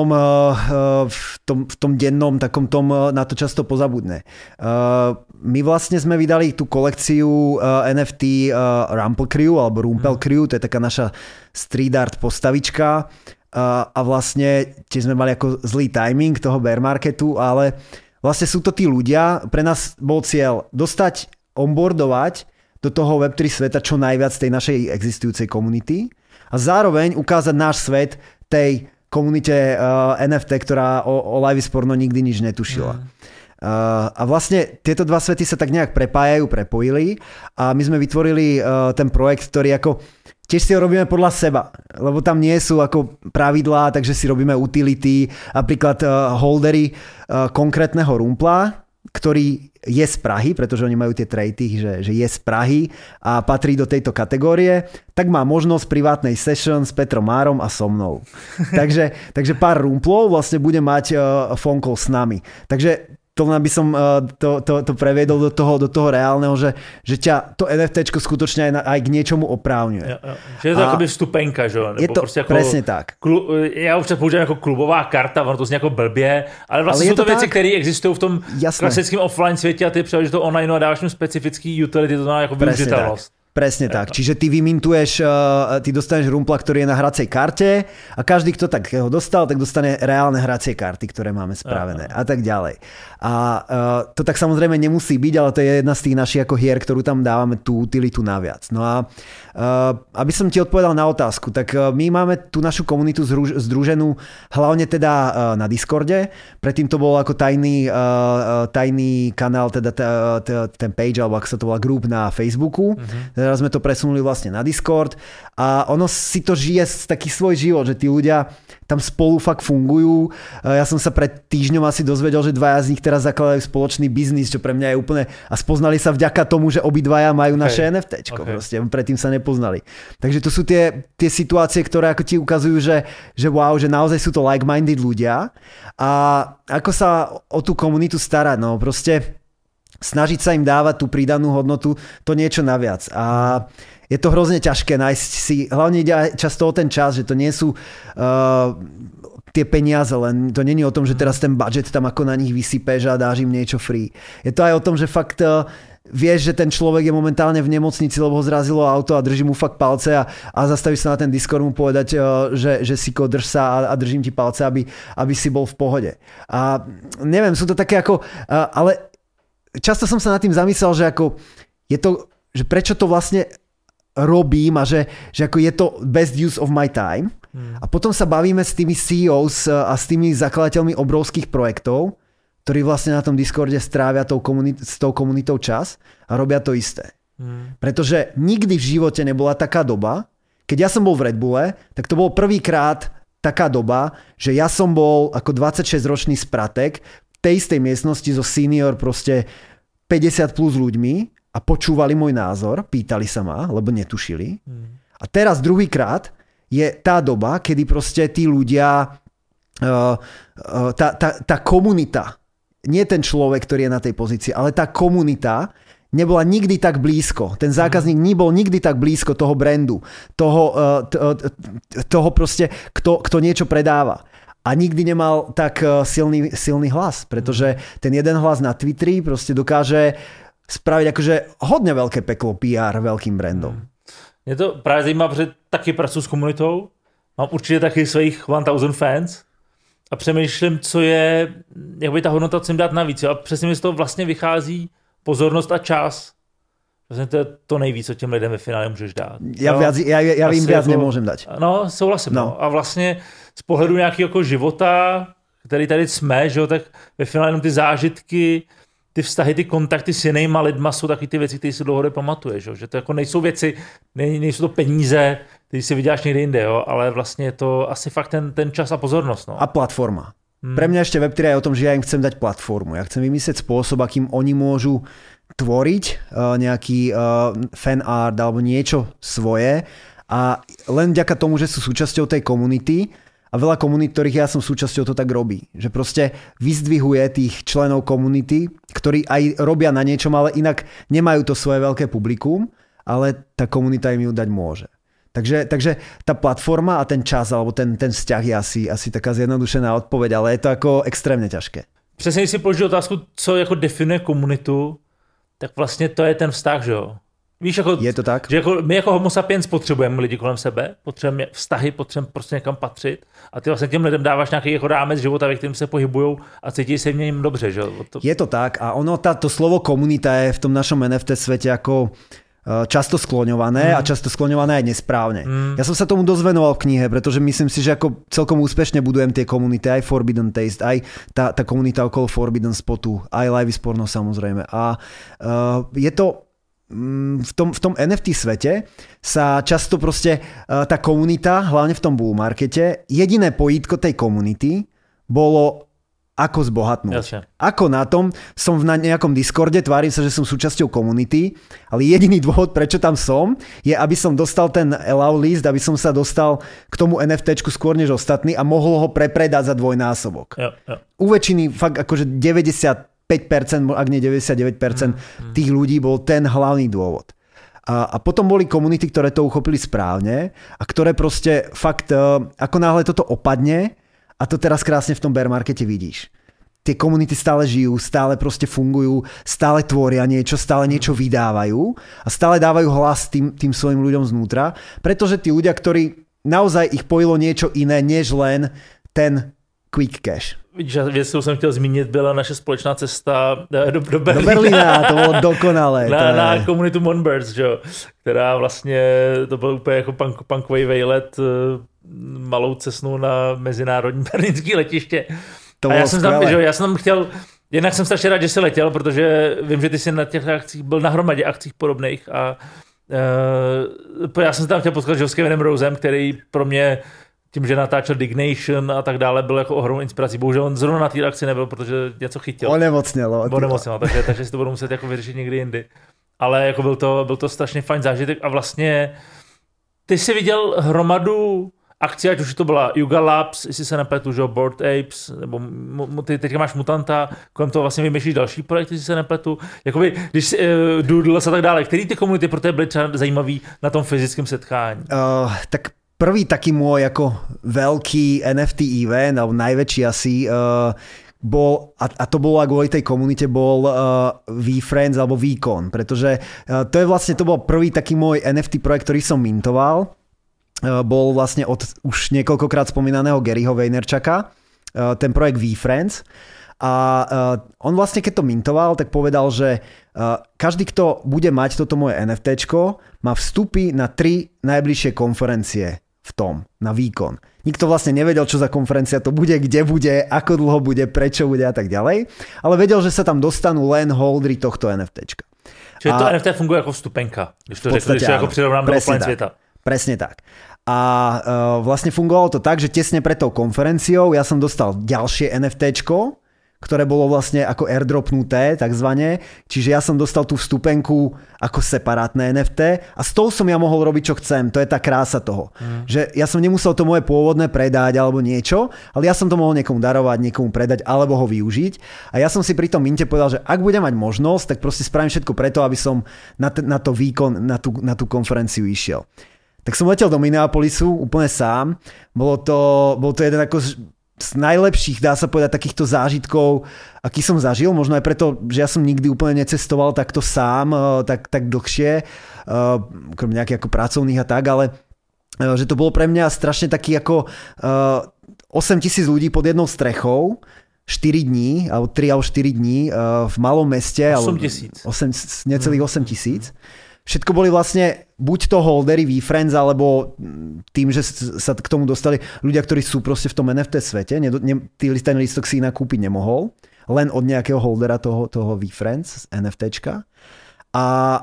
dennom takom tom na to často pozabudne. My vlastne sme vydali tú kolekciu NFT Rumpel Crew alebo Rumpel Crew, to je taká naša street art postavička a vlastne tiež sme mali ako zlý timing toho bear marketu, ale vlastne sú to tí ľudia, pre nás bol cieľ dostať, onboardovať do toho Web3 sveta čo najviac tej našej existujúcej komunity a zároveň ukázať náš svet tej komunite NFT, ktorá o Live is Porno nikdy nič netušila. A vlastne tieto dva svety sa tak nejak prepojili a my sme vytvorili ten projekt, ktorý ako tiež si ho robíme podľa seba, lebo tam nie sú ako pravidlá, takže si robíme utility, napríklad holdery konkrétneho rumpla, ktorý je z Prahy, pretože oni majú tie traity, že je z Prahy a patrí do tejto kategórie, tak má možnosť privátnej session s Petrom Márom a so mnou. Takže pár rumplov vlastne bude mať phone call s nami. Takže to by som to previedol do toho reálneho, že ťa to NFTčko skutočne aj k niečomu oprávňuje. Že je to akoby vstupenka, že? Nebo je to ako, presne tak. Já už používám jako klubová karta, ono to zní jako blbě, ale vlastně jsou to věci, které existují v tom klasickém offline světě a ty převedeš to online a dáváš mu specifický utility, to znamená jako využitelnost. Presne tak. Čiže ty vymintuješ, ty dostaneš rumpla, ktorý je na hracej karte a každý, kto tak ho dostal, tak dostane reálne hracie karty, ktoré máme spravené a tak ďalej. A to tak samozrejme nemusí byť, ale to je jedna z tých našich ako hier, ktorú tam dávame tú utilitu naviac. No a aby som ti odpovedal na otázku, tak my máme tú našu komunitu združenú hlavne teda na Discorde. Predtým to bol ako tajný kanál, teda ten page, alebo ako sa to volá, group na Facebooku. Teraz sme to presunuli vlastne na Discord a ono si to žije taký svoj život, že tí ľudia tam spolu fakt fungujú. Ja som sa pred týždňom asi dozvedel, že dvaja z nich teraz zakladajú spoločný biznis, čo pre mňa je úplne... A spoznali sa vďaka tomu, že obidvaja majú naše NFTčko. Proste, predtým sa nepoznali. Takže to sú tie situácie, ktoré ako ti ukazujú, že wow, že naozaj sú to like-minded ľudia. A ako sa o tú komunitu starať, no proste snažiť sa im dávať tú pridanú hodnotu, to niečo naviac. A je to hrozne ťažké nájsť si, hlavne ide aj často o ten čas, že to nie sú tie peniaze, len to nie je o tom, že teraz ten budget tam ako na nich vysypeš a dáš im niečo free. Je to aj o tom, že fakt vieš, že ten človek je momentálne v nemocnici, lebo ho zrazilo auto a drží mu fakt palce a zastavíš sa na ten Discord mu povedať, že si drž sa a držím ti palce, aby si bol v pohode. A neviem, sú to také ako... ale často som sa nad tým zamyslel, že ako je to, že prečo to vlastne robím a že ako je to best use of my time. A potom sa bavíme s tými CEOs a s tými zakladateľmi obrovských projektov, ktorí vlastne na tom Discorde strávia s tou komunitou čas a robia to isté. Pretože nikdy v živote nebola taká doba, keď ja som bol v Red Bulle, tak to bol prvýkrát taká doba, že ja som bol ako 26-ročný spratek v tej istej miestnosti so senior proste 50 plus ľuďmi a počúvali môj názor, pýtali sa ma, lebo netušili. A teraz druhýkrát je tá doba, kedy proste tí ľudia, tá komunita, nie ten človek, ktorý je na tej pozícii, ale tá komunita nebola nikdy tak blízko. Ten zákazník nebol nikdy tak blízko toho brandu, toho proste, kto niečo predáva. A nikdy nemal tak silný hlas, pretože ten jeden hlas na Twitteri proste dokáže spraviť akože hodně veľké peklo PR veľkým brandom. Mě to právě zajímá, protože taky pracuji s komunitou, mám určitě taky svých 1000 fans a přemýšlím, co je, jak by ta hodnota, co jim dát navíc. A přesně mi z toho vlastně vychází pozornost a čas. Vlastně to je to nejvíc, co těm lidem ve finále můžeš dát. Já jim viac nemůžem dát. No, souhlasím. No. A vlastně z pohledu nějakého jako života, který tady jsme, že jo, tak ve finále jenom ty zážitky, ty vztahy, ty kontakty s jinýma lidma jsou taky ty věci, které si dlouhodobě pamatuješ. Že to jako nejsou věci, nejsou to peníze, které si vyděláš někde jinde, jo? Ale vlastně je to asi fakt ten čas a pozornost. No. A platforma. Pre mňa ešte Web3 je o tom, že ja im chcem dať platformu. Ja chcem vymyslieť spôsob, akým oni môžu tvoriť nejaký fan art alebo niečo svoje a len vďaka tomu, že sú súčasťou tej komunity a veľa komunít, ktorých ja som súčasťou, to tak robí. Že proste vyzdvihuje tých členov komunity, ktorí aj robia na niečom, ale inak nemajú to svoje veľké publikum, ale tá komunita im ju dať môže. Takže tá platforma a ten čas alebo ten vzťah je asi taká zjednodušená odpoveď, ale je to ako extrémne ťažké. Přesně, když si položil otázku, co jako definuje komunitu, tak vlastně to je ten vztah, že jo? Víš, jako, je to tak? Že jako, my jako homo sapiens potřebujeme lidi kolem sebe, potřebujeme vztahy, potřebujeme prostě někam patřit a ty vlastně těm lidem dáváš nějaký jako rámec života, ve kterém se pohybujou a cítí se v něm dobře, že jo? Je to tak a ono, to slovo komunita je v tom našom NFT svete ako často skloňované a často skloňované aj nesprávne. Ja som sa tomu dosť venoval v knihe, pretože myslím si, že ako celkom úspešne budujem tie komunity, aj Forbidden Taste, aj tá komunita okolo Forbidden Spotu, aj Live is Porno samozrejme. A je to v tom NFT svete sa často proste tá komunita, hlavne v tom bull markete, jediné pojítko tej komunity bolo ako zbohatnúť. Jasne. Ako na tom, som na nejakom Discorde, tvárim sa, že som súčasťou komunity, ale jediný dôvod, prečo tam som, je, aby som dostal ten allow list, aby som sa dostal k tomu NFTčku skôr než ostatní a mohol ho prepredať za dvojnásobok. Jo. U väčšiny fakt akože 95%, ak nie 99% tých ľudí bol ten hlavný dôvod. A potom boli komunity, ktoré to uchopili správne a ktoré proste fakt, ako náhle toto opadne, a to teraz krásne v tom bear markete vidíš. tie komunity stále žijú, stále proste fungujú, stále tvoria niečo, stále niečo vydávajú a stále dávajú hlas tým svojim ľuďom znútra, pretože tí ľudia, ktorí naozaj ich pojilo niečo iné, než len ten quick cash. Vidíš, věc, kterou jsem chtěl zmínit, byla naše společná cesta do Berlína. Do Berlína, to bylo dokonalé. Na komunitu Monbirds, že jo, která vlastně, to byl úplně jako punkový vejlet, malou cestnou na mezinárodní berlínský letiště. To a já jsem tam chtěl, jednak jsem strašně rád, že jsi letěl, protože vím, že ty jsi na těch akcích byl na hromadě akcích podobných a já jsem se tam chtěl potkat s Kevinem Rosem, který pro mě tím, že natáčel Dignation a tak dále, byl jako ohromnou inspirací. Bohužel on zrovna na té akci nebyl, protože něco chytil. Onemocnělo, takže si to budu muset jako vyřešit někdy jindy. Ale jako byl to strašně fajn zážitek a vlastně ty jsi viděl hromadu akcí, ať už to byla Yuga Labs, jestli se nepletu, že Bored Apes, nebo ty teďka máš Mutanta, kolem toho vlastně vymýšlíš další projekty, jestli se nepletu. Jakoby, když Doodles a tak dále, který ty komunity pro tebe byly třeba zajímavý na tom fyzickém setkání? Tak prvý taký môj ako veľký NFT event, alebo najväčší asi, bol, a to bolo kvôli tej komunite, bol VeeFriends alebo VeeCon, pretože to bol prvý taký môj NFT projekt, ktorý som mintoval. Bol vlastne od už niekoľkokrát spomínaného Garyho Vaynerchuka, ten projekt VeeFriends. A on vlastne, keď to mintoval, tak povedal, že každý, kto bude mať toto moje NFTčko, má vstupy na 3 najbližšie konferencie v tom, na VeeCon. Nikto vlastne nevedel, čo za konferencia to bude, kde bude, ako dlho bude, prečo bude a tak ďalej, ale vedel, že sa tam dostanú len holdery tohto NFTčka. Čiže to NFT funguje ako vstupenka, když to řekl, když ako prirovnám do offline sveta. Presne tak. A vlastne fungovalo to tak, že tesne pred tou konferenciou ja som dostal ďalšie NFTčko, ktoré bolo vlastne ako airdropnuté, takzvané. Čiže ja som dostal tú vstupenku ako separátne NFT a s tou som ja mohol robiť, čo chcem. To je tá krása toho. Že ja som nemusel to moje pôvodné predať alebo niečo, ale ja som to mohol niekomu darovať, niekomu predať alebo ho využiť. A ja som si pri tom minte povedal, že ak budem mať možnosť, tak proste spravím všetko preto, aby som na to VeeCon, na tú konferenciu išiel. Tak som letel do Minneapolisu úplne sám. Bol to jeden ako z najlepších, dá sa povedať, takýchto zážitkov, aký som zažil, možno aj preto, že ja som nikdy úplne necestoval takto sám, tak dlhšie, okrem nejakých ako pracovných a tak, ale že to bolo pre mňa strašne taký ako 8,000 ľudí pod jednou strechou, 4 dní, alebo 3 alebo 4 dní v malom meste. 8,000. Necelých 8,000. Všetko boli vlastne buď to holdery VeeFriends, alebo tým, že sa k tomu dostali ľudia, ktorí sú proste v tom NFT svete. Ten lístok si inak kúpiť nemohol. Len od nejakého holdera toho VeeFriends z NFTčka. A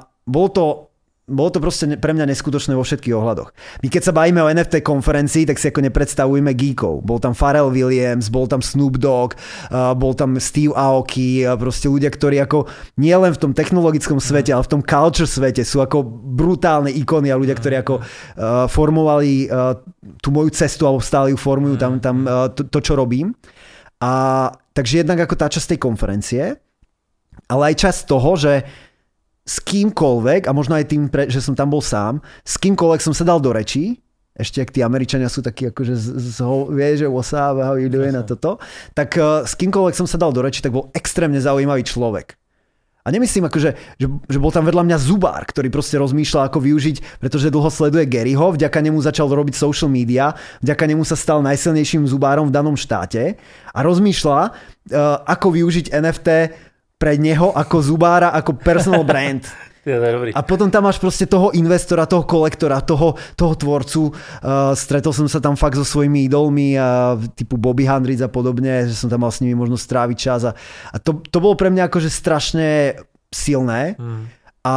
bolo to proste pre mňa neskutočné vo všetkých ohľadoch. My keď sa bavíme o NFT konferencii, tak si ako nepredstavujeme geekov. Bol tam Pharrell Williams, bol tam Snoop Dogg, bol tam Steve Aoki, proste ľudia, ktorí ako nie len v tom technologickom svete, ale v tom culture svete sú ako brutálne ikony a ľudia, ktorí ako formovali tú moju cestu alebo stále ju formujú tam to, čo robím. A takže jednak ako tá časť tej konferencie, ale aj časť toho, že s kýmkoľvek, a možno aj tým, že som tam bol sám, s kýmkoľvek som sa dal do rečí, ešte ak tí Američania sú takí akože vieš, že what's up, how you doing a toto, tak s kýmkoľvek som sa dal do rečí, tak bol extrémne zaujímavý človek. A nemyslím akože, že bol tam vedľa mňa zubár, ktorý proste rozmýšľal, ako využiť, pretože dlho sleduje Garyho, vďaka nemu začal robiť social media, vďaka nemu sa stal najsilnejším zubárom v danom štáte a rozmýšľa, ako využiť NFT pre neho ako zubára, ako personal brand. A potom tam máš proste toho investora, toho kolektora, toho tvorcu. Stretol som sa tam fakt so svojimi idolmi, typu Bobby Hundreds a podobne, že som tam mal s nimi možno stráviť čas. A to bolo pre mňa akože strašne silné. A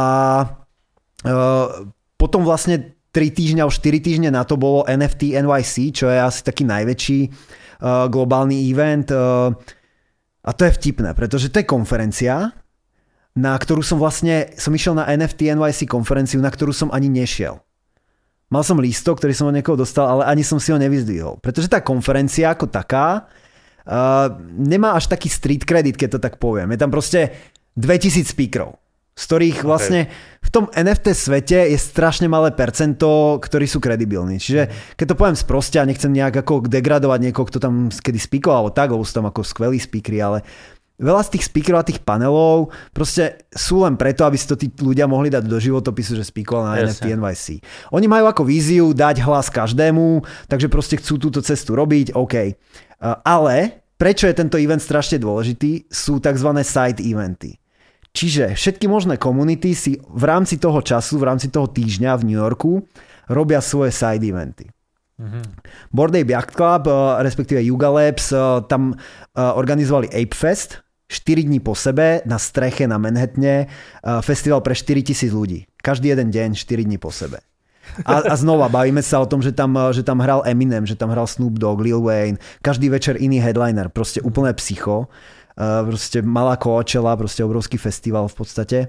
potom vlastne 3 týždňa alebo 4 týždne na to bolo NFT NYC, čo je asi taký najväčší globálny event. A to je vtipné, pretože to je konferencia, na ktorú som išiel na NFT NYC konferenciu, na ktorú som ani nešiel. Mal som lístok, ktorý som od niekoho dostal, ale ani som si ho nevyzdvihol. Pretože tá konferencia ako taká nemá až taký street credit, keď to tak poviem. Je tam proste 2000 speakerov, z ktorých vlastne v v tom NFT svete je strašne malé percento, ktorí sú kredibilní. Čiže keď to poviem sproste a nechcem nejak ako degradovať niekoho, kto tam kedy speakoval, alebo tak, lebo sú tam ako skvelí speakery, ale veľa z tých speakerov a tých panelov proste sú len preto, aby si to tí ľudia mohli dať do životopisu, že speakoval na NFT NYC. Oni majú ako víziu dať hlas každému, takže proste chcú túto cestu robiť, OK. Ale prečo je tento event strašne dôležitý? Sú tzv. Side eventy. Čiže všetky možné komunity si v rámci toho času, v rámci toho týždňa v New Yorku robia svoje side eventy. Bored Ape Yacht Club, respektíve Yuga Labs, tam organizovali Ape Fest, 4 dní po sebe na streche na Manhattane, festival pre 4,000 ľudí. Každý jeden deň, 4 dní po sebe. A znova bavíme sa o tom, že tam hral Eminem, že tam hral Snoop Dogg, Lil Wayne, každý večer iný headliner, proste úplné psycho. Proste malá Coachella, proste obrovský festival v podstate.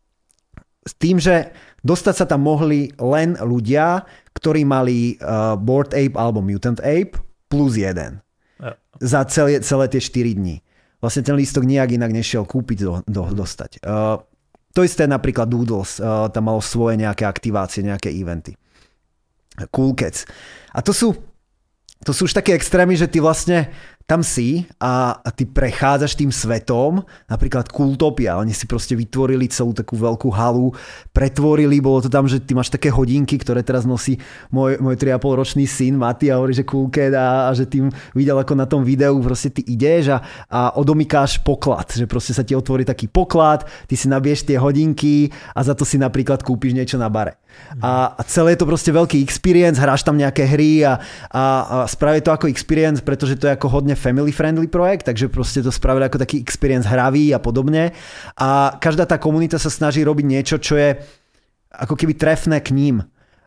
S tým, že dostať sa tam mohli len ľudia, ktorí mali Bored Ape alebo Mutant Ape plus 1. Za celé tie 4 dní. Vlastne ten lístok nijak inak nešiel kúpiť, dostať. To isté napríklad Doodles, tam malo svoje nejaké aktivácie, nejaké eventy. Cool Cats. A to sú už také extrémy, že ty vlastne tam si a ty prechádzaš tým svetom, napríklad Cooltopia, oni si proste vytvorili celú takú veľkú halu, pretvorili, bolo to tam, že ty máš také hodinky, ktoré teraz nosí môj 3,5 ročný syn Mati a hovorí, že Cool Cat a že tým videl ako na tom videu, proste ty ideš a odomykáš poklad, že proste sa ti otvorí taký poklad, ty si nabiješ tie hodinky a za to si napríklad kúpiš niečo na bare. A celé je to proste veľký experience, hráš tam nejaké hry a spraví to ako experience, pretože to je ako hodne family friendly projekt, takže proste to spravili ako taký experience hravý a podobne. A každá tá komunita sa snaží robiť niečo, čo je ako keby trefné k ním.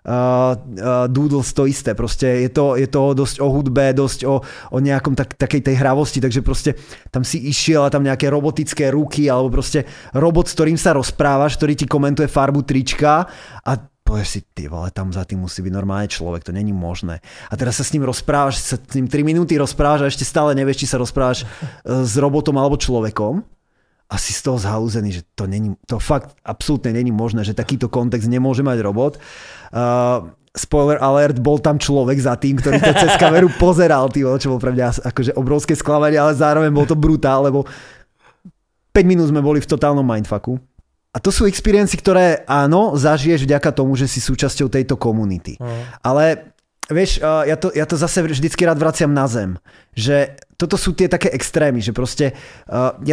Doodles to isté, proste je to dosť o hudbe, dosť o nejakom takej tej hravosti, takže proste tam si išiel a tam nejaké robotické ruky alebo proste robot, s ktorým sa rozprávaš, ktorý ti komentuje farbu trička a povieš si, ty vole, tam za tým musí byť normálne človek, to není možné. A teraz sa s ním rozprávaš, sa s ním 3 minúty rozprávaš a ešte stále nevieš, či sa rozprávaš s robotom alebo človekom. A si z toho zhalúzený, že to fakt absolútne není možné, že takýto kontext nemôže mať robot. Spoiler alert, bol tam človek za tým, ktorý to cez kameru pozeral, čo bol pre mňa akože obrovské sklamanie, ale zároveň bol to brutál, lebo 5 minút sme boli v totálnom mindfucku. A to sú experiency, ktoré áno, zažiješ vďaka tomu, že si súčasťou tejto komunity. Ale vieš, ja to zase vždycky rád vraciam na zem, že toto sú tie také extrémy, že proste ja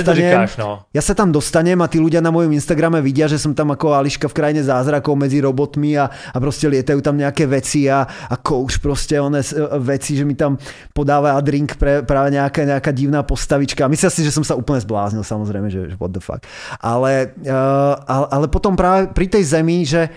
sa tam dostanem a tí ľudia na mojom Instagrame vidia, že som tam ako Ališka v krajine zázrakov medzi robotmi a proste lietajú tam nejaké veci a coach proste veci, že mi tam podáva drink pre práve nejaká divná postavička. Myslím si, že som sa úplne zbláznil, samozrejme, že what the fuck. Ale potom práve pri tej zemi, že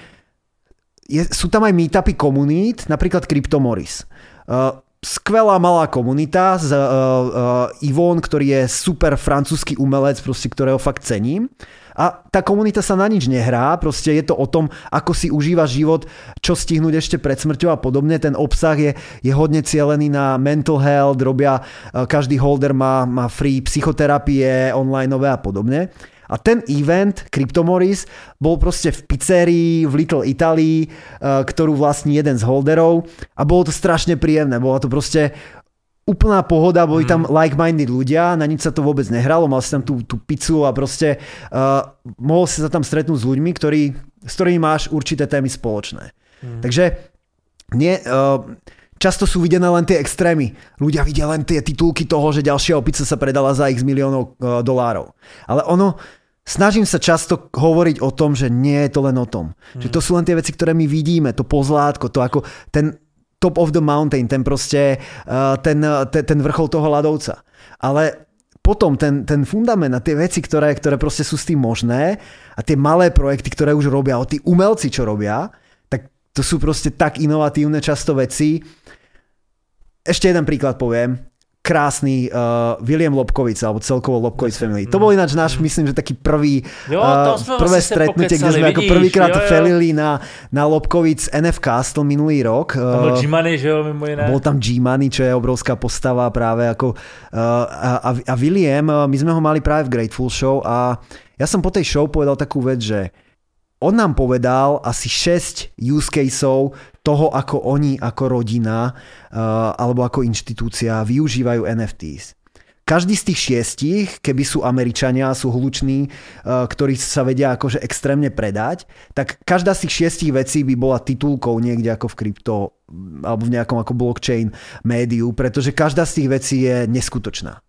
sú tam aj meetupy komunít, napríklad Cryptomoris. Skvelá malá komunita z Yvonne, ktorý je super francúzsky umelec, proste, ktorého fakt cením. A tá komunita sa na nič nehrá, proste je to o tom, ako si užívaš život, čo stihnúť ešte pred smrťou a podobne. Ten obsah je hodne cielený na mental health, každý holder má free psychoterapie, onlineové a podobne. A ten event, Cryptomoris, bol proste v pizzerii v Little Italy, ktorú vlastní jeden z holderov a bolo to strašne príjemné. Bola to proste úplná pohoda, boli tam like-minded ľudia, na nič sa to vôbec nehralo, mal si tam tú pizzu a proste mohol si sa tam stretnúť s ľuďmi, s ktorými máš určité témy spoločné. Takže často sú videné len tie extrémy. Ľudia vidia len tie titulky toho, že ďalšia opica sa predala za x miliónov dolárov. Ale snažím sa často hovoriť o tom, že nie je to len o tom. Že to sú len tie veci, ktoré my vidíme, to pozlátko, to ako ten top of the mountain, ten proste, ten vrchol toho ľadovca. Ale potom ten fundament a tie veci, ktoré proste sú s tým možné a tie malé projekty, ktoré už robia, tí umelci, čo robia, tak to sú proste tak inovatívne často veci. Ešte jeden príklad poviem. Krásny William Lobkovic, alebo celkovo Lobkovic Family. To bol ináč náš, myslím, že taký prvé stretnutie, kde sme ako prvýkrát felili na Lobkovic NF Castle minulý rok. Tam bol G-Money, že jo, mimo iné. Bol tam G-Money, čo je obrovská postava práve ako a William, my sme ho mali práve v Grateful Show a ja som po tej show povedal takú vec, že on nám povedal asi 6 use caseov toho, ako oni, ako rodina alebo ako inštitúcia využívajú NFTs. Každý z tých 6, keby sú Američania, sú hluční, ktorí sa vedia akože extrémne predať, tak každá z tých 6 vecí by bola titulkou niekde ako v krypto alebo v nejakom ako blockchain médiu, pretože každá z tých vecí je neskutočná.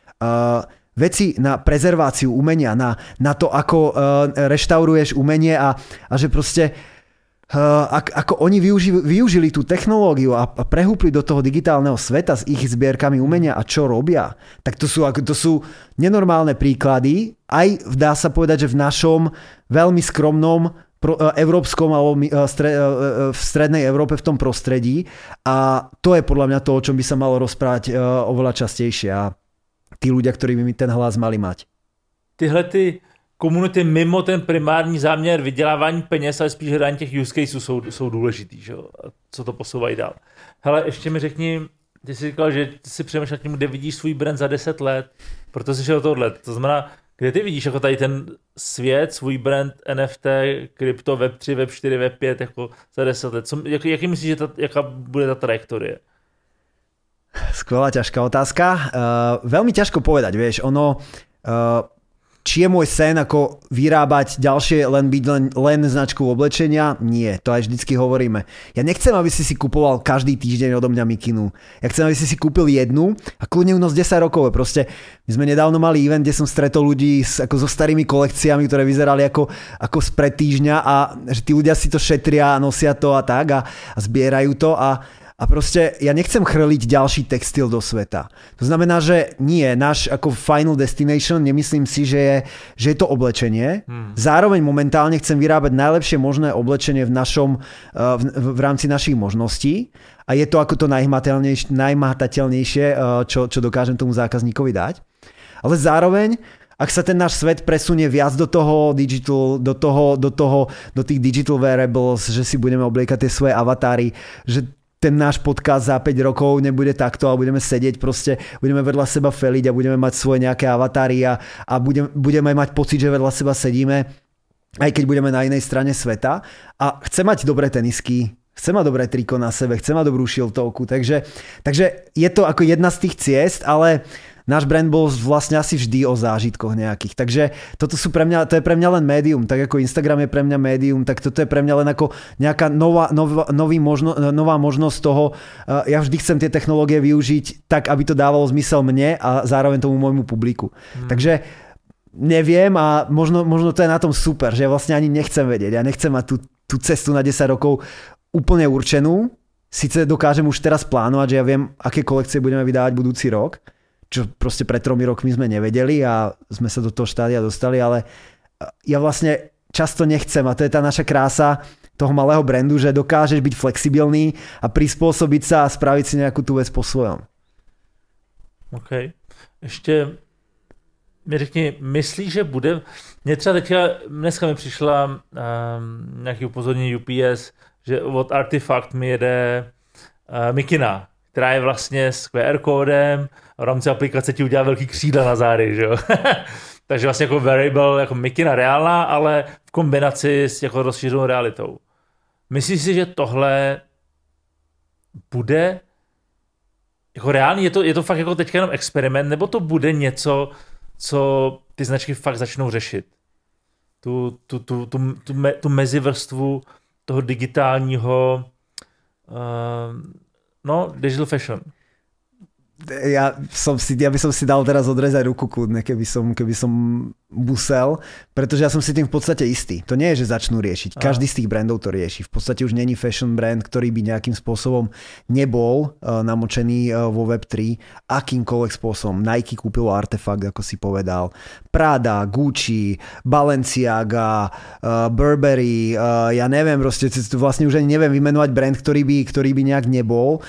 Veci na prezerváciu umenia, na to, ako reštauruješ umenie a že proste ako oni využili tú technológiu a prehúpli do toho digitálneho sveta s ich zbierkami umenia a čo robia, tak to sú nenormálne príklady, aj dá sa povedať, že v našom veľmi skromnom európskom alebo v strednej Európe v tom prostredí a to je podľa mňa to, o čom by sa malo rozprávať oveľa častejšie a tí ľudia, ktorí by mi ten hlas mali mať. Tyhle ty komunity mimo ten primární záměr vydělávání peněz, ale spíš hledání těch use caseů jsou důležitý, že jo? Co to posouvají dál. Hele, ještě mi řekni, ty jsi říkal, že ty si přemýšlel tím, kde vidíš svůj brand za 10 let, proto jsi šel tohle. To znamená, kde ty vidíš jako tady ten svět, svůj brand NFT, krypto, Web3, Web4, Web5 jako za 10 let? Jaký myslíš, že jaká bude ta trajektorie? Skvelá, ťažká otázka. Veľmi ťažko povedať, vieš, či je môj sen ako vyrábať ďalšie, len značku oblečenia? Nie, to aj vždycky hovoríme. Ja nechcem, aby si kupoval každý týždeň odo mňa mikinu. Ja chcem, aby si kúpil jednu a kľudne ju nos 10 rokov. Proste my sme nedávno mali event, kde som stretol ľudí so starými kolekciami, ktoré vyzerali ako spred týždňa a že tí ľudia si to šetria, nosia to a tak a zbierajú to a proste ja nechcem chrliť ďalší textil do sveta. To znamená, že nie, náš ako final destination, nemyslím si, že je to oblečenie. Zároveň momentálne chcem vyrábať najlepšie možné oblečenie v rámci našich možností a je to ako to najmahatateľnejšie, čo dokážem tomu zákazníkovi dať. Ale zároveň ak sa ten náš svet presunie viac do toho digital, do tých digital wearables, že si budeme obliekať tie svoje avatáry, že ten náš podcast za 5 rokov nebude takto a budeme sedieť proste, budeme vedľa seba feliť a budeme mať svoje nejaké avatáry a budeme mať pocit, že vedľa seba sedíme, aj keď budeme na inej strane sveta. A chcem mať dobré tenisky, chcem mať dobré triko na sebe, chcem mať dobrú šiltovku, takže je to ako jedna z tých ciest, ale náš brand bol vlastne asi vždy o zážitkoch nejakých. Takže to je pre mňa len médium. Tak ako Instagram je pre mňa médium, tak toto je pre mňa len ako nejaká nová možnosť toho. Ja vždy chcem tie technológie využiť tak, aby to dávalo zmysel mne a zároveň tomu môjmu publiku. Takže neviem a možno to je na tom super, že ja vlastne ani nechcem vedieť. Ja nechcem mať tú cestu na 10 rokov úplne určenú. Sice dokážem už teraz plánovať, že ja viem, aké kolekcie budeme vydávať budúci rok, čo proste pred 3 rokmi sme nevedeli a sme sa do toho štádia dostali, ale ja vlastne často nechcem a to je tá naša krása toho malého brandu, že dokážeš byť flexibilný a prispôsobiť sa a spraviť si nejakú tú vec po svojom. OK. Ještě mi řekni, myslíš, že bude... Mně třeba dneska mi přišla nějaký upozornění UPS, že od Artifact mi jede mikina, která je vlastně s QR kódem, v rámci aplikace ti udělá velký křídla na zády, že jo? Takže vlastně jako variable, jako mikina reálná, ale v kombinaci s jako rozšířenou realitou. Myslíš si, že tohle bude jako reálný? Je to fakt jako teďka jenom experiment, nebo to bude něco, co ty značky fakt začnou řešit? Tu mezivrstvu toho digitálního digital fashion. Ja by som si dal teraz odrezať ruku kľudne, keby som musel, pretože ja som si tým v podstate istý. To nie je, že začnú riešiť. Každý z tých brandov to rieši. V podstate už není fashion brand, ktorý by nejakým spôsobom nebol namočený vo Web3 akýmkoľvek spôsobom. Nike kúpilo Artefakt, ako si povedal. Prada, Gucci, Balenciaga, Burberry, ja neviem, proste vlastne už ani neviem vymenovať brand, ktorý by nejak nebol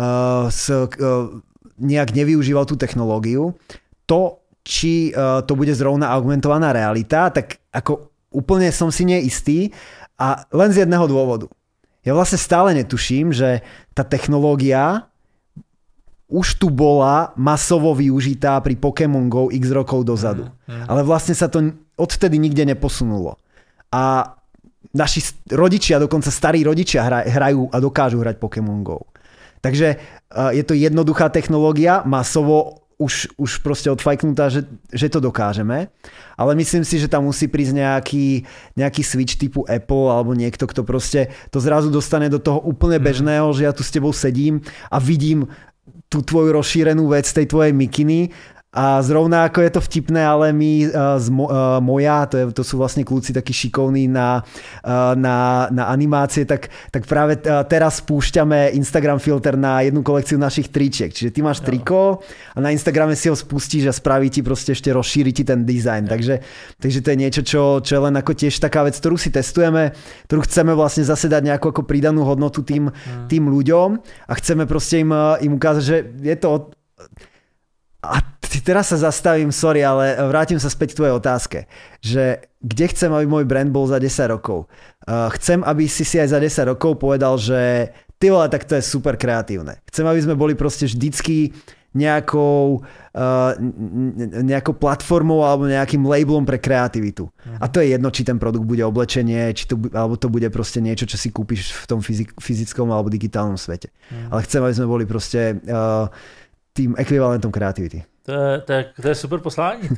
nejak nevyužíval tú technológiu. To, či to bude zrovna augmentovaná realita, tak ako úplne som si neistý a len z jedného dôvodu. Ja vlastne stále netuším, že tá technológia už tu bola masovo využitá pri Pokémon Go x rokov dozadu. Ale vlastne sa to odtedy nikde neposunulo. A naši rodičia, dokonca starí rodičia hrajú a dokážu hrať Pokémon Go. Takže je to jednoduchá technológia, masovo už proste odfajknutá, že to dokážeme, ale myslím si, že tam musí prísť nejaký switch typu Apple alebo niekto, kto proste to zrazu dostane do toho úplne bežného, že ja tu s tebou sedím a vidím tú tvoju rozšírenú vec tej tvojej mikiny. A zrovna ako je to vtipné, ale my Moja, to sú vlastne kľúci takí šikovní na animácie, tak práve teraz spúšťame Instagram filter na jednu kolekciu našich tričiek. Čiže ty máš triko a na Instagrame si ho spustíš a spraví ti proste ešte rozšíri ti ten dizajn. Takže to je niečo, čo je len ako tiež taká vec, ktorú si testujeme, ktorú chceme vlastne zase dať nejakú ako pridanú hodnotu tým ľuďom a chceme proste im ukázať, že je to... A teraz sa zastavím, sorry, ale vrátim sa späť k tvojej otázke, že kde chcem, aby môj brand bol za 10 rokov? Chcem, aby si aj za 10 rokov povedal, že ty vole, tak to je super kreatívne. Chcem, aby sme boli proste vždycky nejakou platformou alebo nejakým labelom pre kreativitu. A to je jedno, či ten produkt bude oblečenie, alebo to bude proste niečo, čo si kúpiš v tom fyzickom alebo digitálnom svete. Ale chcem, aby sme boli proste... tým ekvivalentom kreativity. To je super poslání.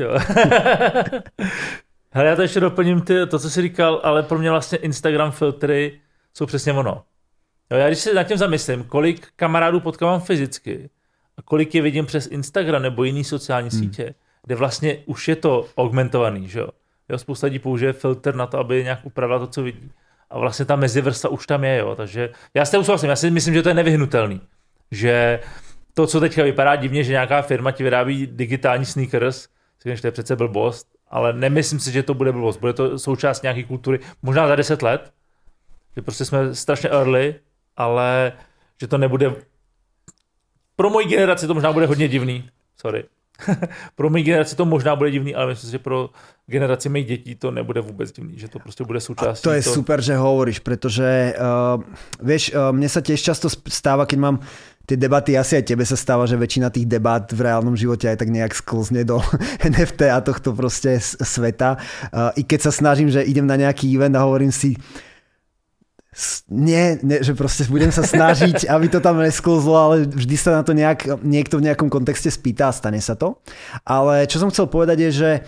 Hele, já to ještě doplním to, co jsi říkal, ale pro mě vlastně Instagram filtry jsou přesně ono. Jo, já když se nad tím zamyslím, kolik kamarádů potkávám fyzicky a kolik je vidím přes Instagram nebo jiný sociální sítě, kde vlastně už je to augmentovaný, že jo. Spousta lidí použije filtr na to, aby nějak upravila to, co vidí. A vlastně ta mezivrstva už tam je, jo. Takže já s tím souhlasím, já si myslím, že to je nevyhnutelný. Že to, co teďka vypadá divně, že nějaká firma ti vyrábí digitální sneakers, že to je přece blbost, ale nemyslím si, že to bude blbost. Bude to součást nějaké kultury, možná za 10 let, že prostě jsme strašně early, ale že to nebude... Pro moji generaci to možná bude hodně divný, sorry. Pro moji generaci to možná bude divný, ale myslím si, že pro generaci mých dětí to nebude vůbec divný, že to prostě bude součástí. To je super, že hovoríš, pretože vieš, mne sa tiež často stáva, keď mám tie debaty, asi aj tebe sa stáva, že väčšina tých debat v reálnom živote aj tak nejak sklzne do NFT a tohto proste sveta. I keď sa snažím, že idem na nejaký event a hovorím si nie, že proste budem sa snažiť, aby to tam nesklzlo, ale vždy sa na to niekto v nejakom kontexte spýta a stane sa to. Ale čo som chcel povedať je, že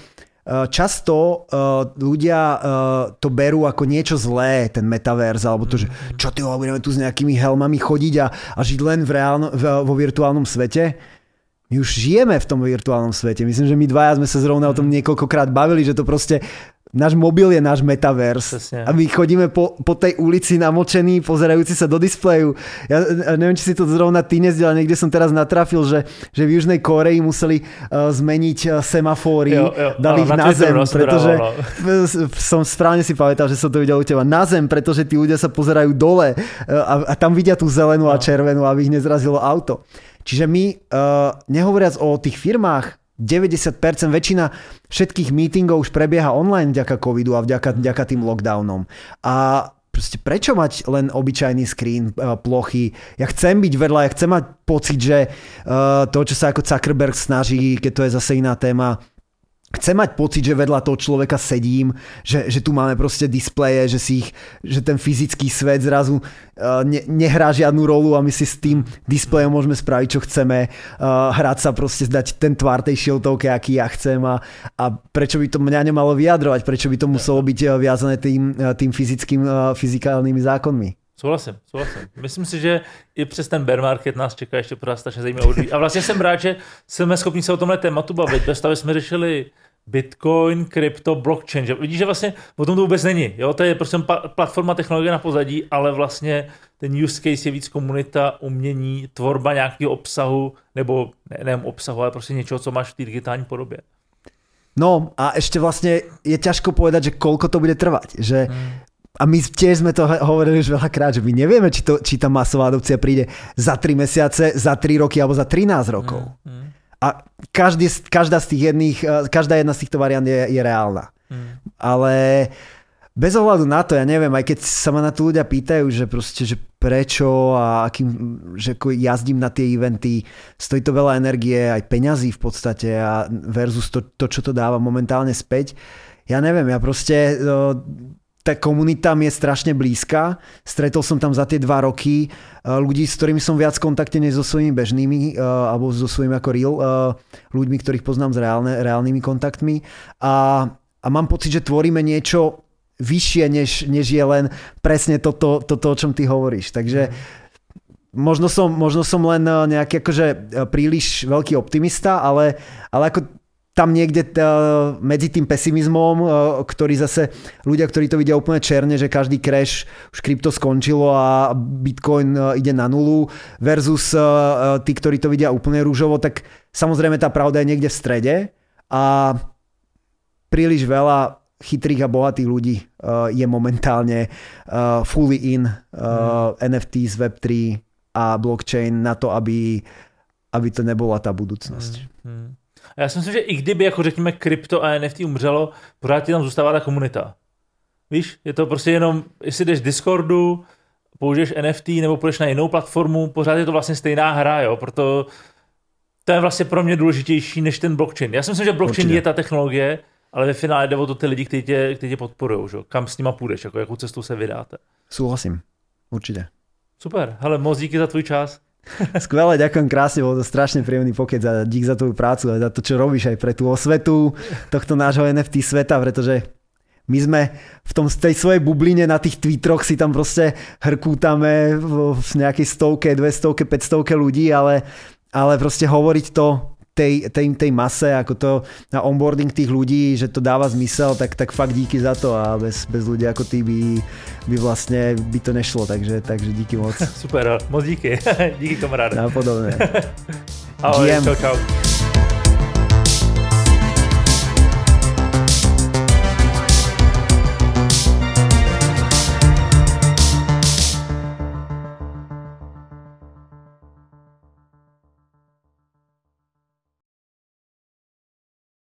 často ľudia to berú ako niečo zlé, ten metaverse, alebo to, že čo ty budeme tu s nejakými helmami chodiť a žiť len vo virtuálnom svete. My už žijeme v tom virtuálnom svete. Myslím, že my dvaja sme sa zrovna o tom niekoľkokrát bavili, že to proste náš mobil je náš metaverse. Presne. A my chodíme po tej ulici namočení, pozerajúci sa do displeju. Ja neviem, či si to zrovna ty nezdel, ale niekde som teraz natrafil, že v Južnej Kórei museli zmeniť semafóry, dali ich na zem, pretože som správne si pamätal, že som to videl u teba, na zem, pretože tí ľudia sa pozerajú dole a tam vidia tú zelenú a červenú, aby ich nezrazilo auto. Čiže my, nehovoriac o tých firmách, 90%, väčšina všetkých meetingov už prebieha online vďaka covidu a vďaka tým lockdownom. A proste prečo mať len obyčajný screen, plochy? Ja chcem byť vedľa, ja chcem mať pocit, že to, čo sa ako Zuckerberg snaží, keď to je zase iná téma, chcem mať pocit, že vedľa toho človeka sedím, že tu máme proste displeje, že ten fyzický svet zrazu nehrá žiadnu rolu a my si s tým displejom môžeme spraviť, čo chceme, hrať sa proste, dať ten tvár tej šiltovke, aký ja chcem a prečo by to mňa nemalo vyjadrovať, prečo by to muselo byť viazané tým fyzikálnymi zákonmi. Souhlasím. Myslím si, že i přes ten bear market nás čeká ještě pořád strašně zajímavý. A vlastně jsem rád, že jsme schopni se o tomhle tématu bavit. Ve stavě jsme řešili Bitcoin, krypto, blockchain. Že vidíš, že vlastně o tom to vůbec není. Jo? To je prostě platforma technologie na pozadí, ale vlastně ten use case je víc komunita, umění, tvorba nějakého obsahu, nebo nejen obsahu, ale prostě něčeho, co máš v té digitální podobě. No a ešte vlastne je ťažko povedať, že koľko to bude trvať. Že a my tiež sme to hovorili už veľakrát, že my nevieme, či tá masová adopcia príde za 3 mesiace, za 3 roky alebo za 13 rokov. A každá jedna z týchto variant je reálna. Ale bez ohľadu na to, ja neviem, aj keď sa ma na to ľudia pýtajú, že proste, že prečo a že jazdím na tie eventy, stojí to veľa energie, aj peňazí v podstate a versus to, čo to dáva momentálne späť. Ja neviem, ja proste... tá komunita mi je strašne blízka. Stretol som tam za tie 2 roky ľudí, s ktorými som viac v kontakte než so svojimi bežnými alebo so svojimi ako real ľuďmi, ktorých poznám s reálnymi kontaktmi. A mám pocit, že tvoríme niečo vyššie, než je len presne toto, o čom ty hovoríš. Takže možno som len nejaký akože príliš veľký optimista, ale ako tam niekde medzi tým pesimizmom, ktorý zase ľudia, ktorí to vidia úplne černe, že každý crash, už krypto skončilo a Bitcoin ide na nulu, versus tí, ktorí to vidia úplne rúžovo, tak samozrejme tá pravda je niekde v strede a príliš veľa chytrých a bohatých ľudí je momentálne fully in NFTs, Web3 a blockchain na to, aby to nebola tá budúcnosť. Já si myslím, že i kdyby, jako řekněme, krypto a NFT umřelo, pořád ti tam zůstává ta komunita. Víš, je to prostě jenom, jestli jdeš Discordu, použiješ NFT nebo půjdeš na jinou platformu, pořád je to vlastně stejná hra, jo, proto to je vlastně pro mě důležitější než ten blockchain. Já si myslím, že blockchain je ta technologie, ale ve finále jde o to ty lidi, kteří tě podporujou, že? Kam s nima půjdeš, jako jakou cestou se vydáte. Súhlasím, určite. Super, hele, moc díky za tvůj čas. Skvelé, ďakujem krásne, bol to strašne príjemný pokec a dík za tvoju prácu a za to, čo robíš aj pre tú osvetu tohto nášho NFT sveta, pretože my sme v tej svojej bubline na tých Twitteroch si tam proste hrkútame v nejakej 100, 200, 500 ľudí, ale proste hovoriť to tej mase, ako to na onboarding tých ľudí, že to dáva zmysel, tak fakt díky za to a bez ľudí ako ty by vlastne by to nešlo, takže díky moc. Super, moc díky. Díky kamaráde. Napodobne. Ahoj, čau.